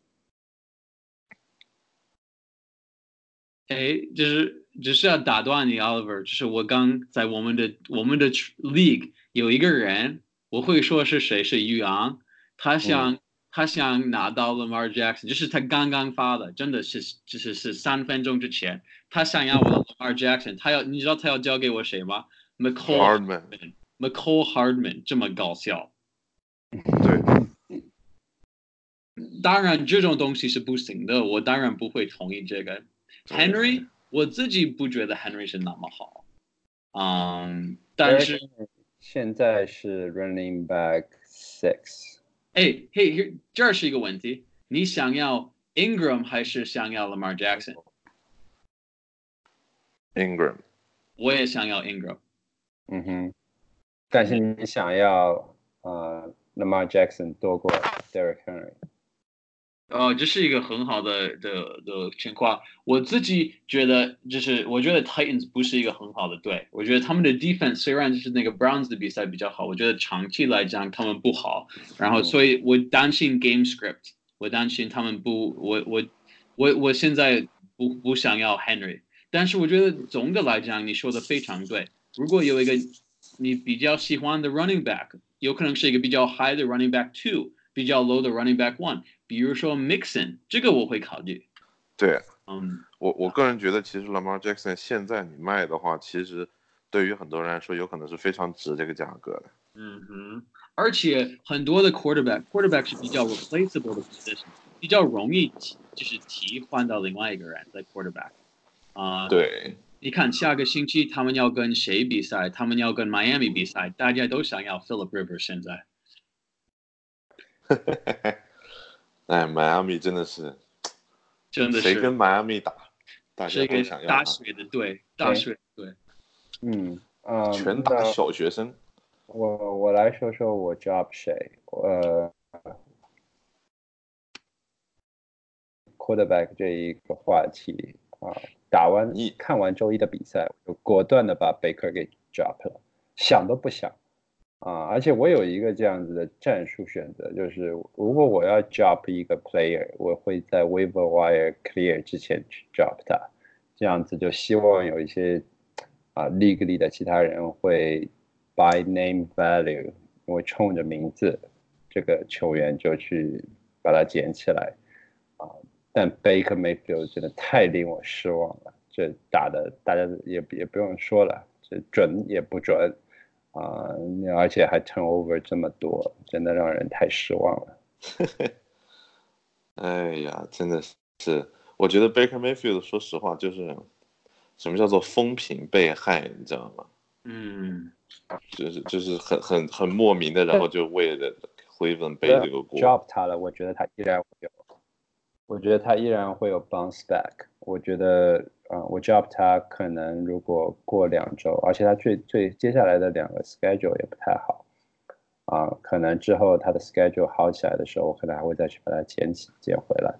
只是要打断你 Oliver， 就是我刚在我们的 league 有一个人，我会说是谁，是于昂，他想拿到 Lamar Jackson， 就是他刚刚发的，真的是就是3分钟之前，他想要我的 Lamar Jackson， 你知道他要交给我谁吗？ McCall Hardman 这么搞笑。 对。 当然这种东西是不行的，我当然不会同意这个。Henry 我自己不觉得 Henry 是那么好，但是现在是 running back 6。 嘿，这是一个问题，你想要 Ingram 还是想要 Lamar Jackson？Ingram。 我也想要 Ingram。 但是你想要Lamar Jackson 多过 Derrick Henry。 这是一个很好的情况。我自己觉得，我觉得 Titans 不是一个很好的队。我觉得他们的 defense 虽然就是那个 Browns 的比赛比较好，我觉得长期来讲他们不好。然后，所以我担心 game script， 我担心他们不，我现在不想要 Henry。但是我觉得总的来讲，你说的非常对。如果有一个你比较喜欢的 running back， 有可能是一个比较 high 的 running back 2， 比较 low 的 running back 1。比如说 Mixon， 这个我会考虑。 对，我个人觉得，其实 Lamar Jackson 现在你卖的话，其实对于很多人来说，有可能是非常值这个价格的。 而且很多的 quarterback 是比较 replaceable 的 position， 比较容易就是替换到另外一个人在 quarterback。 对， 你看下个星期他们要跟谁比赛？他们要跟 Miami 比赛，大家都想要 Philip Rivers 现在。 哎，迈阿密真的是谁跟迈阿密打，大家都想要他。 大水的队，大水的队。 拳打小学生。 我来说说我 drop 谁quarterback 这一个话题看完周一的比赛，我就果断的把 Baker 给 drop 了，想都不想。而且我有一个这样子的战术选择，就是如果我要 drop 一个 player， 我会在 waiver wire clear 之前去 drop 他，这样子就希望有一些league 里的其他人会 by name value， 因为冲着名字这个球员就去把它捡起来但 Baker Mayfield 真的太令我失望了，这打的大家也不用说了，这准也不准。而且还 turnover 这么多，真的让人太失望了。 哎呀，真的是，我觉得 Baker Mayfield 说实话就是什么叫做风评被害，你知道吗？就是很莫名的，然后就为了Cleveland背这个锅。 drop 他了，我觉得他依然会有 bounce back。我觉得我 drop 他可能如果过2周，而且他接下来的2个 schedule 也不太好可能之后他的 schedule 好起来的时候，我可能还会再去把它捡回来。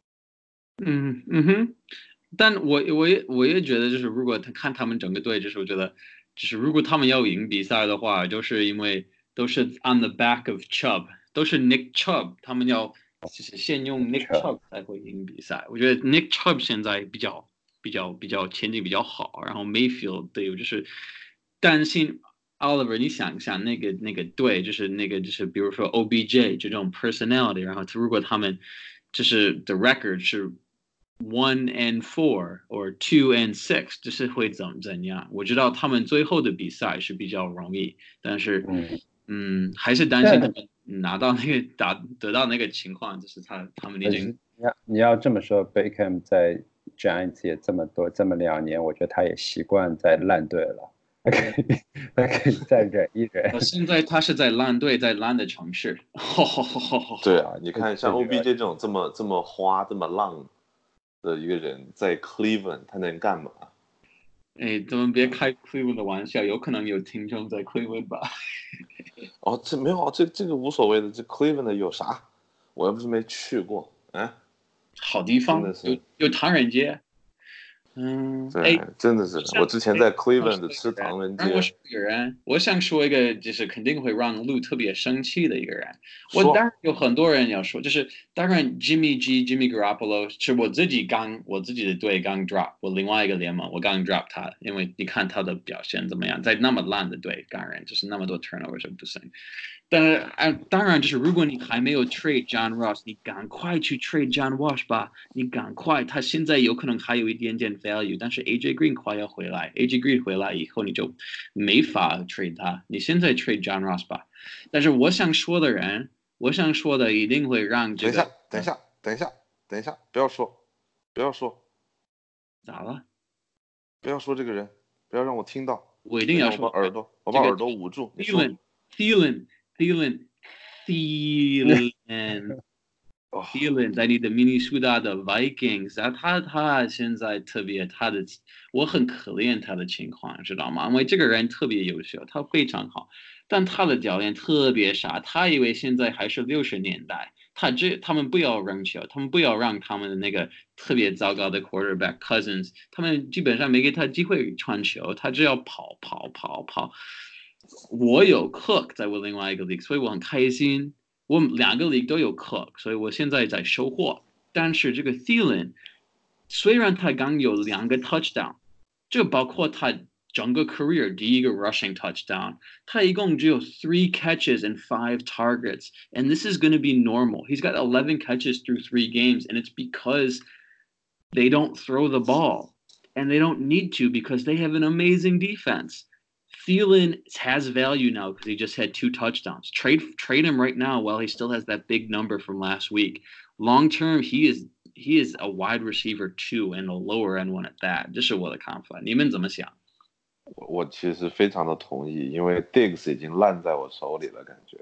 但我也觉得，就是如果看他们整个队，就是我觉得，就是如果他们要赢比赛的话，就是因为都是 on the back of Chubb， 都是 Nick Chubb， 他们要就是先用 Nick Chubb 才会赢比赛。我觉得 Nick Chubb 现在比较前景比较好，然后 Mayfield 对，就是担心 Oliver， 你想想那个队，就是比如说 OBJ 这种 personality， 然后如果他们就是 the record 是 1-4 or 2-6， 就是会怎样？我知道他们最后的比赛是比较容易，但是还是担心他们拿到那个得到那个情况，就是他们已经你要这么说 ，Beckham 在 Giants 也这么2年，我觉得他也习惯在烂队了，他可以再忍一忍。 现在他是在烂队，在烂的城市。 对啊，你看像 OBJ 这种这么花这么浪的一个人，在 Cleveland 他能干嘛？ 咱们别开 Cleveland 的玩笑，有可能有听众在 Cleveland 吧？ 这没有这个无所谓的，这 Cleveland 的有啥？我又不是没去过， 好地方，有唐人街。 对，真的是，我之前在 Cleveland 吃唐人街。 我想说一个，就是肯定会让Lou特别生气的一个人。当然有很多人要说，就是当然 Jimmy Garoppolo 是我自己的队刚 drop， 我另外一个联盟我刚 drop 他，因为你看他的表现怎么样，在那么烂的队，当然就是那么多 turnover 就不行。当然就是如果你还没有 trade John Ross， 你赶快去 trade John Ross 吧，你赶快，他现在有可能还有一点点 value， 但是 AJ Green 快要回来 ，AJ Green 回来以后你就没法 trade 他，你现在 trade John Ross 吧。但是我想说的人， 我想说的一定会让这个。 等一下，不要说， 咋了？ 不要说这个人，不要让我听到。 我一定要说。我把耳朵捂住。 Thielen， 在你的明尼苏达的 Vikings 啊，他现在特别我很可怜他的情况，知道吗？因为这个人特别优秀，他非常好，但他的教练特别傻，他以为现在还是60年代，他们不要扔球，他们不要让他们的那个特别糟糕的 quarterback Cousins， 他们基本上没给他机会传球，他只要跑。我有 Cook 在我另外一个 league， 所以我很开心。我2个 league 都有 Cook， 所以我现在在收获。但是这个 Thielen， 虽然他刚有2个 touchdown， 这包括他整个 career 第一个 rushing touchdown， 他一共只有3 catches and 5 targets, and this is going to be normal. He's got 11 catches through 3 games, and it's because they don't throw the ball, and they don't need to because they have an amazing defense. Thielen has value now because he just had 2 touchdowns. Trade him right now while he still has that big number from last week. Long term, he is a wide receiver 2 and a lower end one at that. 这是我的看法，你们怎么想？ 我其实非常的同意，因为 Diggs 已经烂在我手里了，感觉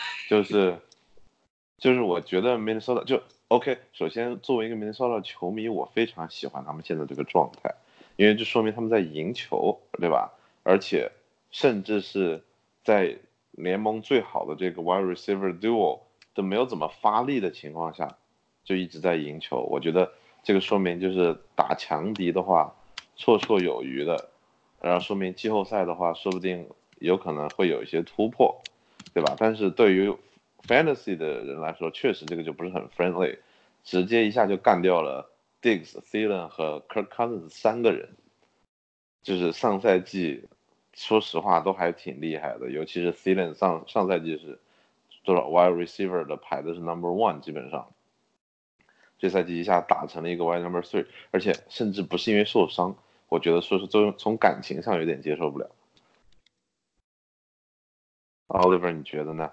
就是我觉得 Minnesota 就 OK。首先，作为一个 Minnesota 球迷，我非常喜欢他们现在这个状态，因为这说明他们在赢球，对吧？而且甚至是在联盟最好的这个 wide receiver duo 都没有怎么发力的情况下，就一直在赢球。我觉得这个说明就是打强敌的话绰绰有余的，然后说明季后赛的话说不定有可能会有一些突破，对吧？但是对于 fantasy 的人来说，确实这个就不是很 friendly， 直接一下就干掉了 Diggs、Thielen 和 Kirk Cousins 3个人，就是上赛季说实话都还挺厉害的，尤其是 Thielen 上赛季是多少 wide receiver 的排的是 number 1， 基本上这赛季一下打成了一个 wide number 3， 而且甚至不是因为受伤，我觉得说是从感情上有点接受不了。Oliver 你觉得呢？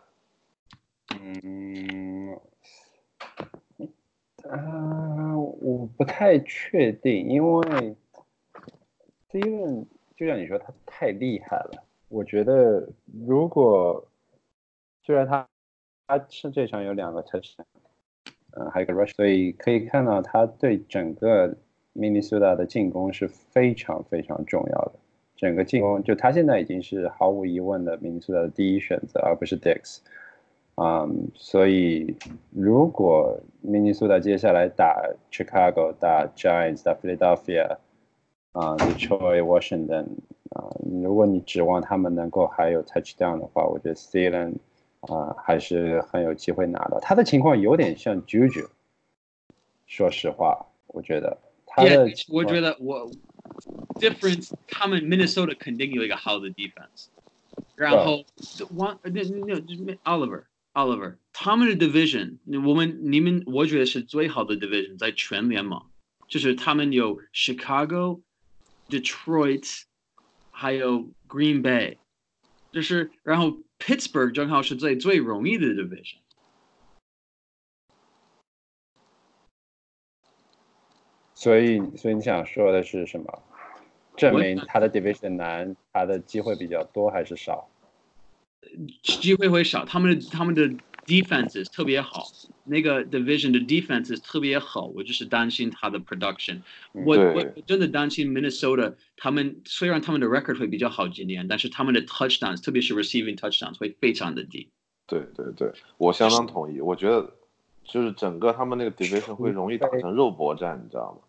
我不太确定，因为 Thielen 就像你说他太厉害了，我觉得如果虽然他是这场有2个 touchdown， 还有个 rush， 所以可以看到他对整个 Minnesota 的进攻是非常非常重要的。整个进攻就他现在已经是毫无疑问的 Minnesota 的第一选择，而不是 Diggs。所以如果 Minnesota 接下来打 Chicago、打 Giants、打 Philadelphia、Detroit、Washington，如果你指望他们能够还有 touchdown 的话，我觉得 Thielen 还是很有机会拿到。他的情况有点像 Juju， 说实话，我觉得他的我觉得difference， 他们 Minnesota 肯定有一个好的 defense， 然后Oliver， 他们的 division， 你们我觉得是最好的 division 在全联盟，就是他们有 Chicago、Detroit， 还有 Green Bay， 就是然后 Pittsburgh 正好是最容易的 division。 所以你想说的是什么？证明他的 division 难，他的机会比较多还是少？ 机会会少，他们的 defenses 特别好，那个 division 的 defenses 特别好，我就是担心他的 production。我真的担心 Minnesota， 他们虽然他们的 record 会比较好今年，但是他们的 touchdowns， 特别是 receiving touchdowns 会非常的低。 对，我相当同意。我觉得就是整个他们那个 division 会容易打成肉搏战，你知道吗？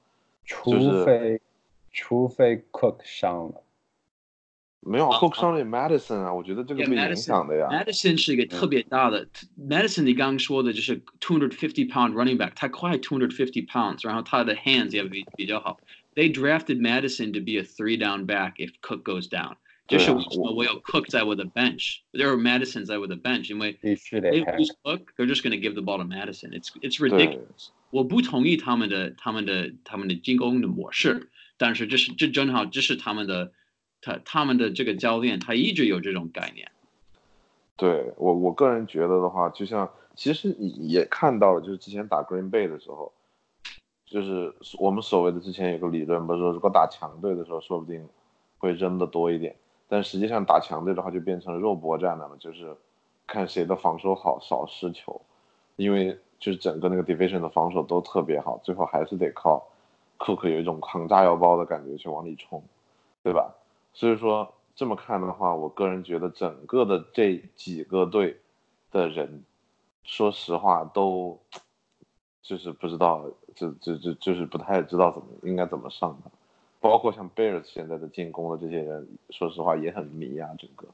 除非 Cook 伤了。 没有 Cook 伤了 Madison 啊，我觉得这个被影响的呀。 Madison 是一个特别大的，Madison 你刚刚说的就是250 pound running back， 他快250 pounds， 然后他的 hands 也比较好。They drafted Madison to be a 3-down back if Cook goes down。就是我有 Cook 在我的 bench，there are Madison 在我的 bench， 因为 they lose Cook， they're just going to give the ball to Madison。It's ridiculous。我不同意他们的进攻的模式，但是这正好这是他们的这个教练，他一直有这种概念。 对我个人觉得的话，就像其实你也看到了，就是之前打 Green Bay 的时候，就是我们所谓的之前有个理论，不是说如果打强队的时候，说不定会扔的多一点，但实际上打强队的话就变成肉搏战了嘛，就是看谁的防守好，少失球，因为就是整个那个 division 的防守都特别好，最后还是得靠库克有一种扛炸药包的感觉去往里冲，对吧？所以说这么看的话，我个人觉得整个的这几个队的人，说实话都就是不知道，就是不太知道应该怎么上的，包括像 Bears 现在的进攻的这些人，说实话也很迷啊，整个。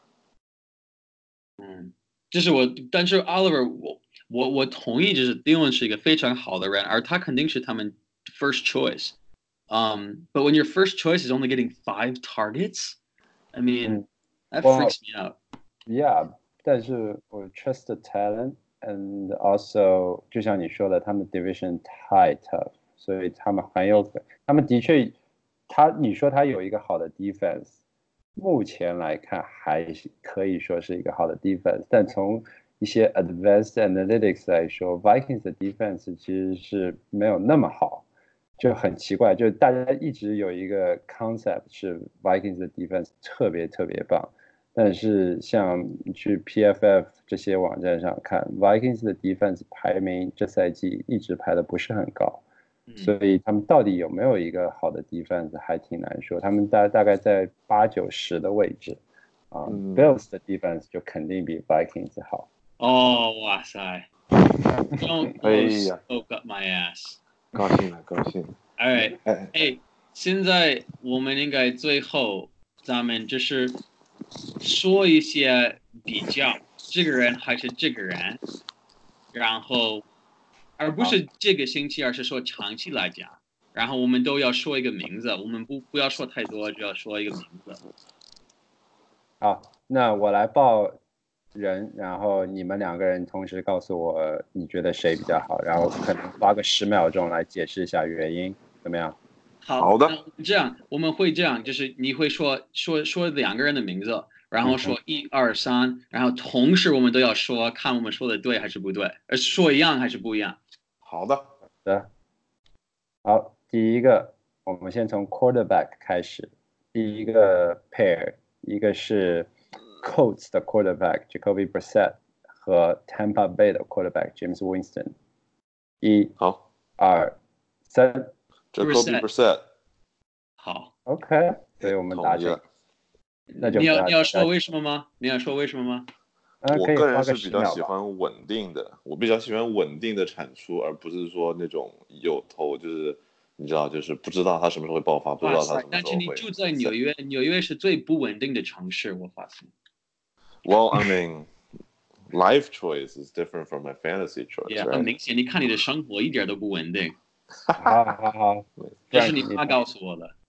就是但是 Oliver 我同意，就是 Dylan 是一个非常好的人，而他肯定是他们 first choice。But when your first choice is only getting 5 targets, I mean, that freaks me out. Yeah, 但是我 trust the talent and also 就像你说的，他们 division 太 tough，所以他们他们的确，你说他有一个好的 defense，目前来看还是可以说是一个好的 defense，但从一些 advanced analytics 来说 ，Vikings 的 defense 其实是没有那么好。就很奇怪，就大家一直有一个 concept 是 Vikings 的 defense 特别特别棒，但是像去 PFF 这些网站上看 ，Vikings 的 defense 排名这赛季一直排的不是很高，所以他们到底有没有一个好的 defense 还挺难说。他们大概在8、9、10的位置啊，Bills 的 defense 就肯定比 Vikings 好。 哦，哇塞 ！Don't poke up my ass。 高兴了，高兴了。 All right，现在我们应该最后咱们就是说一些比较，这个人还是这个人，然后而不是这个星期，而是说长期来讲，然后我们都要说一个名字，我们不要说太多，就要说一个名字。 好，那我来报人，然后你们2个人同时告诉我你觉得谁比较好，然后可能花个10秒钟来解释一下原因，怎么样？ 好的。这样我们会这样，就是你会说2个人的名字，然后说1、2、3，然后同时我们都要说，看我们说的对还是不对，说一样还是不一样。 好的。 好，第一个，我们先从 quarterback 开始，第一个 pair，一个是 Colts 的 quarterback Jacoby Brissett 和 Tampa Bay 的 quarterback James Winston。1、2、3 Jacoby Brissett。 好 ，OK， 所以我们答这。那就你要说为什么吗？ 我个人是比较喜欢稳定的，我比较喜欢稳定的产出，而不是说那种有头，就是你知道，就是不知道他什么时候会爆发，不知道他什么时候会。 但是你住在纽约，纽约是最不稳定的城市，我发现。 Well, I mean, life choice is different from my fantasy choice. Yeah, 很明显，你看你的生活一点都不稳定。 好， 这是你妈告诉我的。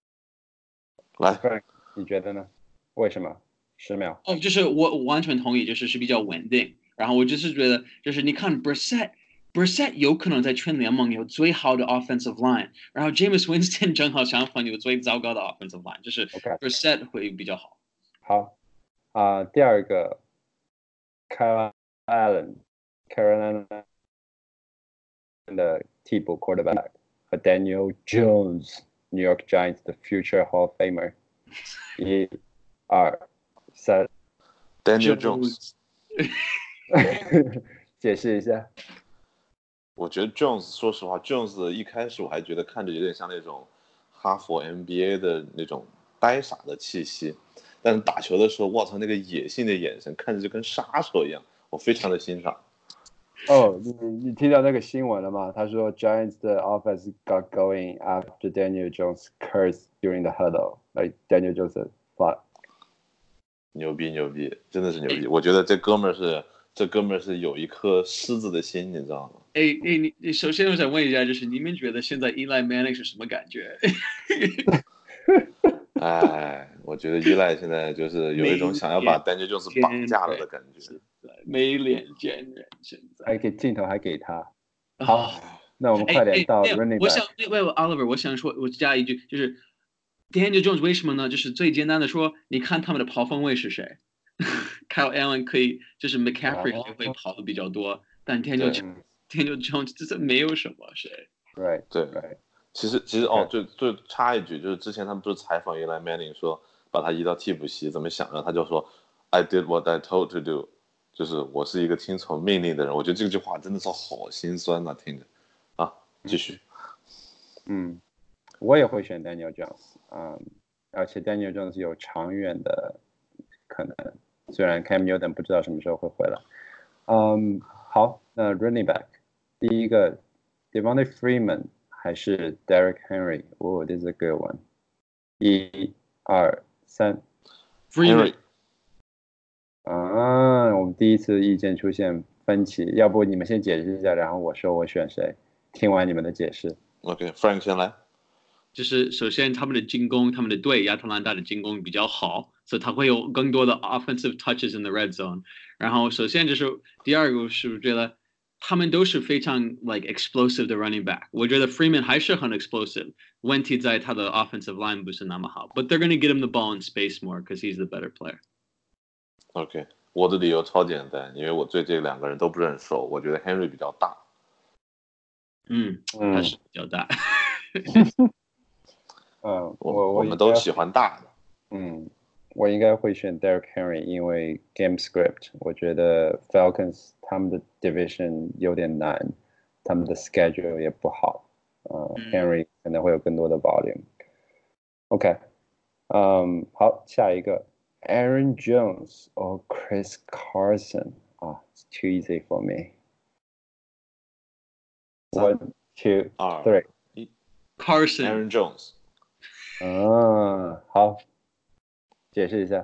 来， 你觉得呢？为什么？10秒。 就是我完全同意，就是比较稳定。然后我就是觉得，就是你看 Brissett 有可能在全联盟有最好的 offensive line， 然后 James Winston 正好相反有最糟糕的 offensive line， 就是 Brissett 会比较好。 好，第二个 Kyle Allen，Carolina 的替补 quarterback 和 Daniel Jones，New York Giants 的 future Hall of Famer。1、2、3 Daniel Jones。 解释一下。 我觉得 Jones， 说实话 ，Jones 一开始我还觉得看着有点像那种哈佛 NBA 的那种呆傻的气息，但是打球的时候，我操，那个野性的眼神，看着就跟杀手一样，我非常的欣赏。 你听到那个新闻了吗？他说 Giants 的 offense got going after Daniel Jones cursed during the huddle. Like Daniel Jones fuck. 牛逼，真的是牛逼！我觉得这哥们儿是有一颗狮子的心，你知道吗？ 你首先我想问一下，就是你们觉得现在 Eli Manning 是什么感觉？ 我觉得Eli现在就是有一种想要把 Daniel Jones 绑架了的感觉， 没脸见人。现在镜头还给他。好，那我们快点到 running back。 我想Oliver， 我想说，我加一句，就是 Daniel Jones 为什么呢？就是最简单的说，你看他们的跑锋位是谁 Kyle Allen 可以，就是 McCaffrey 也会跑的比较多，但 Daniel Jones 这没有什么谁。 Right， 对 right。 其实就插一句，就是之前他们不是采访Eli Manning 说把他移到替补席怎么想的，他就说 I did what I told to do， 就是我是一个听从命令的人。我觉得这句话真的是好心酸呐，听着。啊，继续。 我也会选 Daniel Jones，而且 Daniel Jones 有长远的可能，虽然 Cam Newton 不知道什么时候会回来。好，那 running back 第一个 Devonta Freeman 还是 Derrick Henry？ Oh, this is a good one。1、2、3 Henry。 我们第一次意见出现分歧，要不你们先解释一下，然后我说我选谁，听完你们的解释。 OK，Frank 先来。 就是首先他们的进攻，他们的队亚特兰大的进攻比较好，所以他会有更多的 offensive touches in the red zone。然后首先就是第二个是觉得他们都是非常 like explosive 的 running back。我觉得 Freeman 还是很 explosive， 问题在他的 offensive line 不是那么好。But they're going to get him the ball in space more because he's the better player。 OK， 我的理由超简单，因为我对这两个人都不是很熟，我觉得 Henry 比较大。 他是比较大。 我们都喜欢大的。 我应该会选 Derrick Henry， 因为 game script， 我觉得 Falcons 他们的 division 有点难，他们的 schedule 也不好。Henry 可能会有更多的 volume。OK， 好，下一个 Aaron Jones or Chris Carson。It's too easy for me。1、2、3。 Carson。 Aaron Jones。 好，解释一下。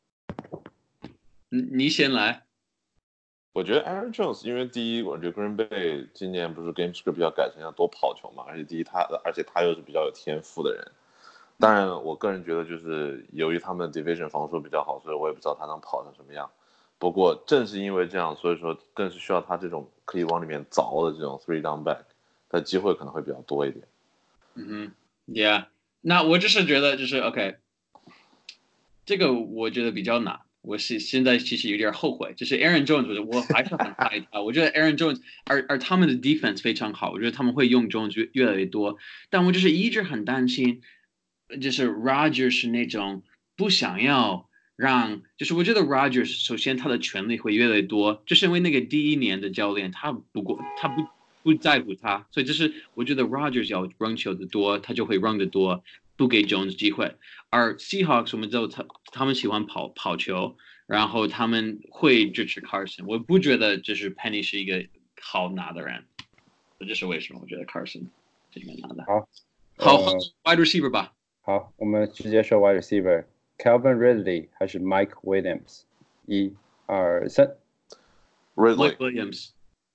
你先来。 我觉得 Aaron Jones， 因为第一，我觉得 Green Bay 今年不是 game script 要改成要多跑球嘛，而且他又是比较有天赋的人。当然，我个人觉得就是由于他们的 division 防守比较好，所以我也不知道他能跑成什么样。不过正是因为这样，所以说更是需要他这种可以往里面凿的这种 three down back， 他机会可能会比较多一点。 Yeah。那我只是觉得就是 OK， 这个我觉得比较难。我是现在其实有点后悔，就是 Aaron Jones， 我还是很爱他。我觉得 Aaron Jones， 而他们的 defense 非常好，我觉得他们会用 Jones 越来越多。但我就是一直很担心，就是 Rodgers 是那种不想要让，就是我觉得 Rodgers 首先他的权力会越来越多，就是因为那个第一年的教练他不在乎他，所以就是我觉得 Rodgers 要 run 球的多，他就会 run 的多，不给 Jones 机会。而 Seahawks 我们知道他们喜欢跑球，然后他们会支持 Carson。我不觉得就是 Penny 是一个好拿的人，这就是为什么我觉得 Carson 是应该拿的。好，wide receiver 吧。 好，我们直接说 wide receiver。Calvin Ridley 还是 Mike Williams？ 1、2、3。 Mike Williams。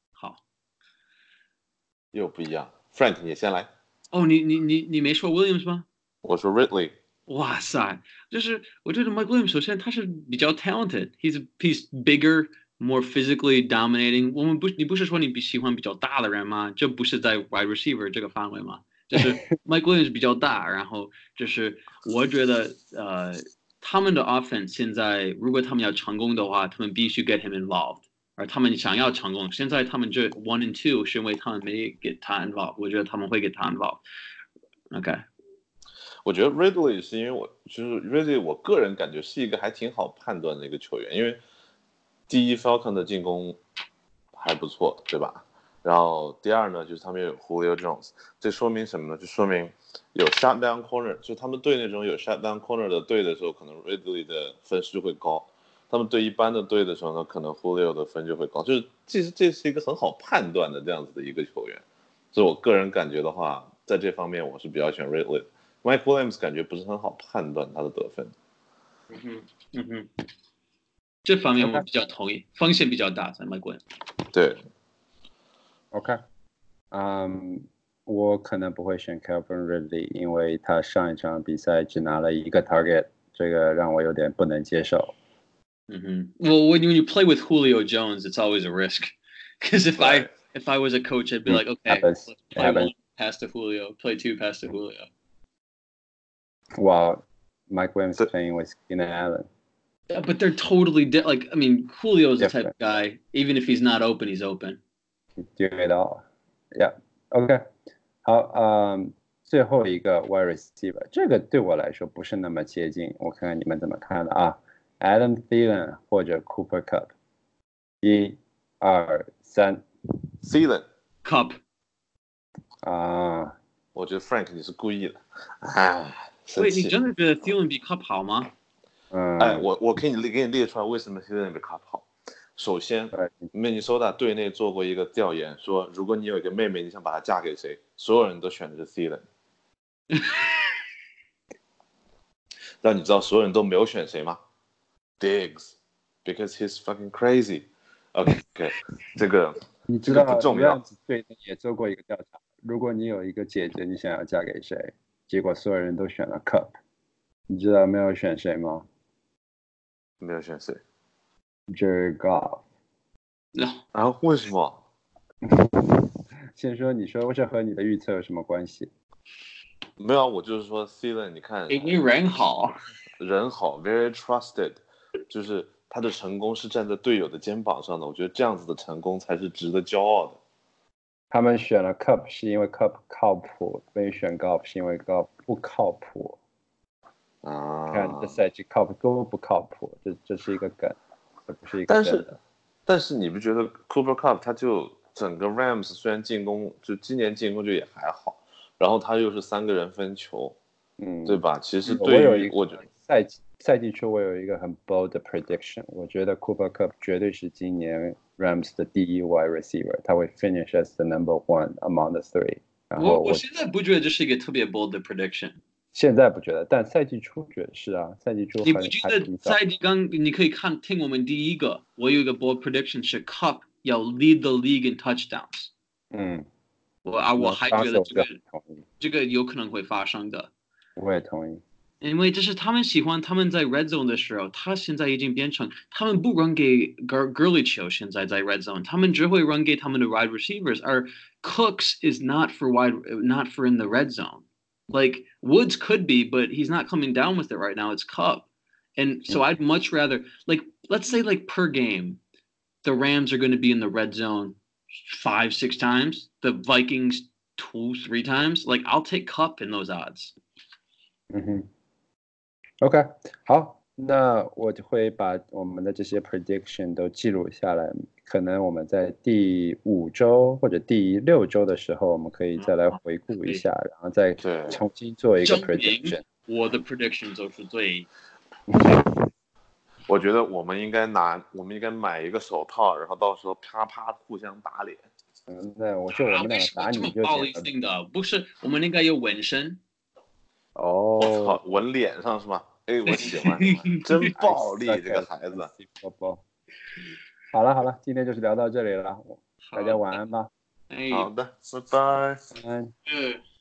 又不一样 ，Frank 你先来。 你没说 Williams 吗？ 我说 Ridley。 哇塞，就是我觉得 Mike Williams 首先他是比较 talented，he's bigger, more physically dominating。你不是说你喜欢比较大的人吗？这不是在 wide receiver 这个范围吗？就是 Mike Williams 比较大，然后就是我觉得他们的 offense 现在如果他们要成功的话，他们必须 get him involved。而他们想要成功，现在他们这 1 and 2是因为他们没 get 他 involved， 我觉得他们会 get 他 involved。OK， 我觉得 Ridley 是因为就是 Ridley， 我个人感觉是一个还挺好判断的一个球员，因为第一 Falcon 的进攻还不错，对吧？然后第二呢，就是他们有 Julio Jones， 这说明什么呢？就说明有 shutdown corner， 就他们对那种有 shutdown corner 的队的时候，可能 Ridley 的分数会高。他们对一般的队的时候呢，可能 Julio 的分就会高，就是这是一个很好判断的这样子的一个球员，所以我个人感觉的话，在这方面我是比较喜欢 Ridley。Mike Williams 感觉不是很好判断他的得分。 这方面我比较同意，风险比较大，在 Mike Williams。 对。 OK， 我可能不会选 Calvin Ridley， 因为他上一场比赛只拿了1个 target， 这个让我有点不能接受。 Well, when you play with Julio Jones, it's always a risk. Because if I was a coach, I'd be like, okay, let's play 1 pass to Julio, play 2 pass to Julio. While Mike Williams playing with Keenan Allen. But they're totally like I mean, Julio's the type Different. of guy. Even if he's not open, he's open. Do it all. Yeah. OK. 好，最后一个 wide receiver，这个对我来说不是那么接近，我看看你们怎么看的啊 ？Adam Thielen 或者 Cooper Cup， 1、2、3。 Thielen Cup 啊， 我觉得 Frank 你是故意的，哎，生喂， 气。 你真的觉得 Thielen 比 Cup 好吗？ 哎，我给你列出来为什么 Thielen 比 Cup 好。首先，Minnesota 队内做过一个调研，说如果你有一个妹妹，你想把她嫁给谁，所有人都选的是 Thielen。但你知道所有人都没有选谁吗 ？Diggs，because he's fucking crazy。OK， 这个你知道不重要。 Rams 队也做过一个调查，如果你有一个姐姐，你想要嫁给谁？结果所有人都选了 Cup。你知道没有选谁吗？ 没有选谁 ？Jared Goff。 然后为什么？ 先说，你说这和你的预测有什么关系？ 没有，我就是说 Thielen， 你看， 因为人好 ，very trusted， 就是他的成功是站在队友的肩膀上的。我觉得这样子的成功才是值得骄傲的。 他们选了 Cup 是因为 Cup 靠谱，没选 Goff 是因为 Goff 不靠谱。看这赛季 Cup 多不靠谱，这是一个梗，这不是一个真的。 但是你不觉得 Cooper Cup 他就整个 Rams 虽然进攻就今年进攻就也还好，然后他又是3个人分球，对吧？其实对于我觉得赛季初我有一个很 bold 的 prediction， 我觉得 Cooper Cup 绝对是今年 Rams 的第一 wide receiver， 他会 finish as the number one among the three。然后我现在不觉得这是一个特别 bold 的 prediction。 现在不觉得，但赛季初觉得是啊，赛季初你不觉得赛季刚你可以听我们第一个，我有一个 bold prediction 是 Cup 要 lead the league in touchdowns。我还觉得这个有可能会发生的。 我也同意。 因为这是他们喜欢，他们在 red zone 的时候，他现在已经变成他们不 run 给 Gurley 球，现在在 red zone， 他们只会 run 给他们的 wide receivers， 而 Cooks is not for in the red zone. Like Woods could be, but he's not coming down with it right now. It's Cup. And so I'd much rather, like, let's say like per game, the Rams are going to be in the red zone 5-6 times, the Vikings 2-3 times. Like, I'll take Cup in those odds. OK， 好，那我就会把我们的这些 prediction 都记录下来。可能我们在第5周或者第6周的时候，我们可以再来回顾一下，然后再重新做一个 prediction。 我的 prediction 就是最。 我觉得我们应该买一个手套，然后到时候啪啪互相打脸。 那我们两个打你就暴力性的，不是我们应该有纹身。 哦， 我操，纹脸上是吗？哎，我喜欢，真暴力这个孩子。 好了，今天就是聊到这里了，大家晚安吧。 好的，拜拜。 晚安。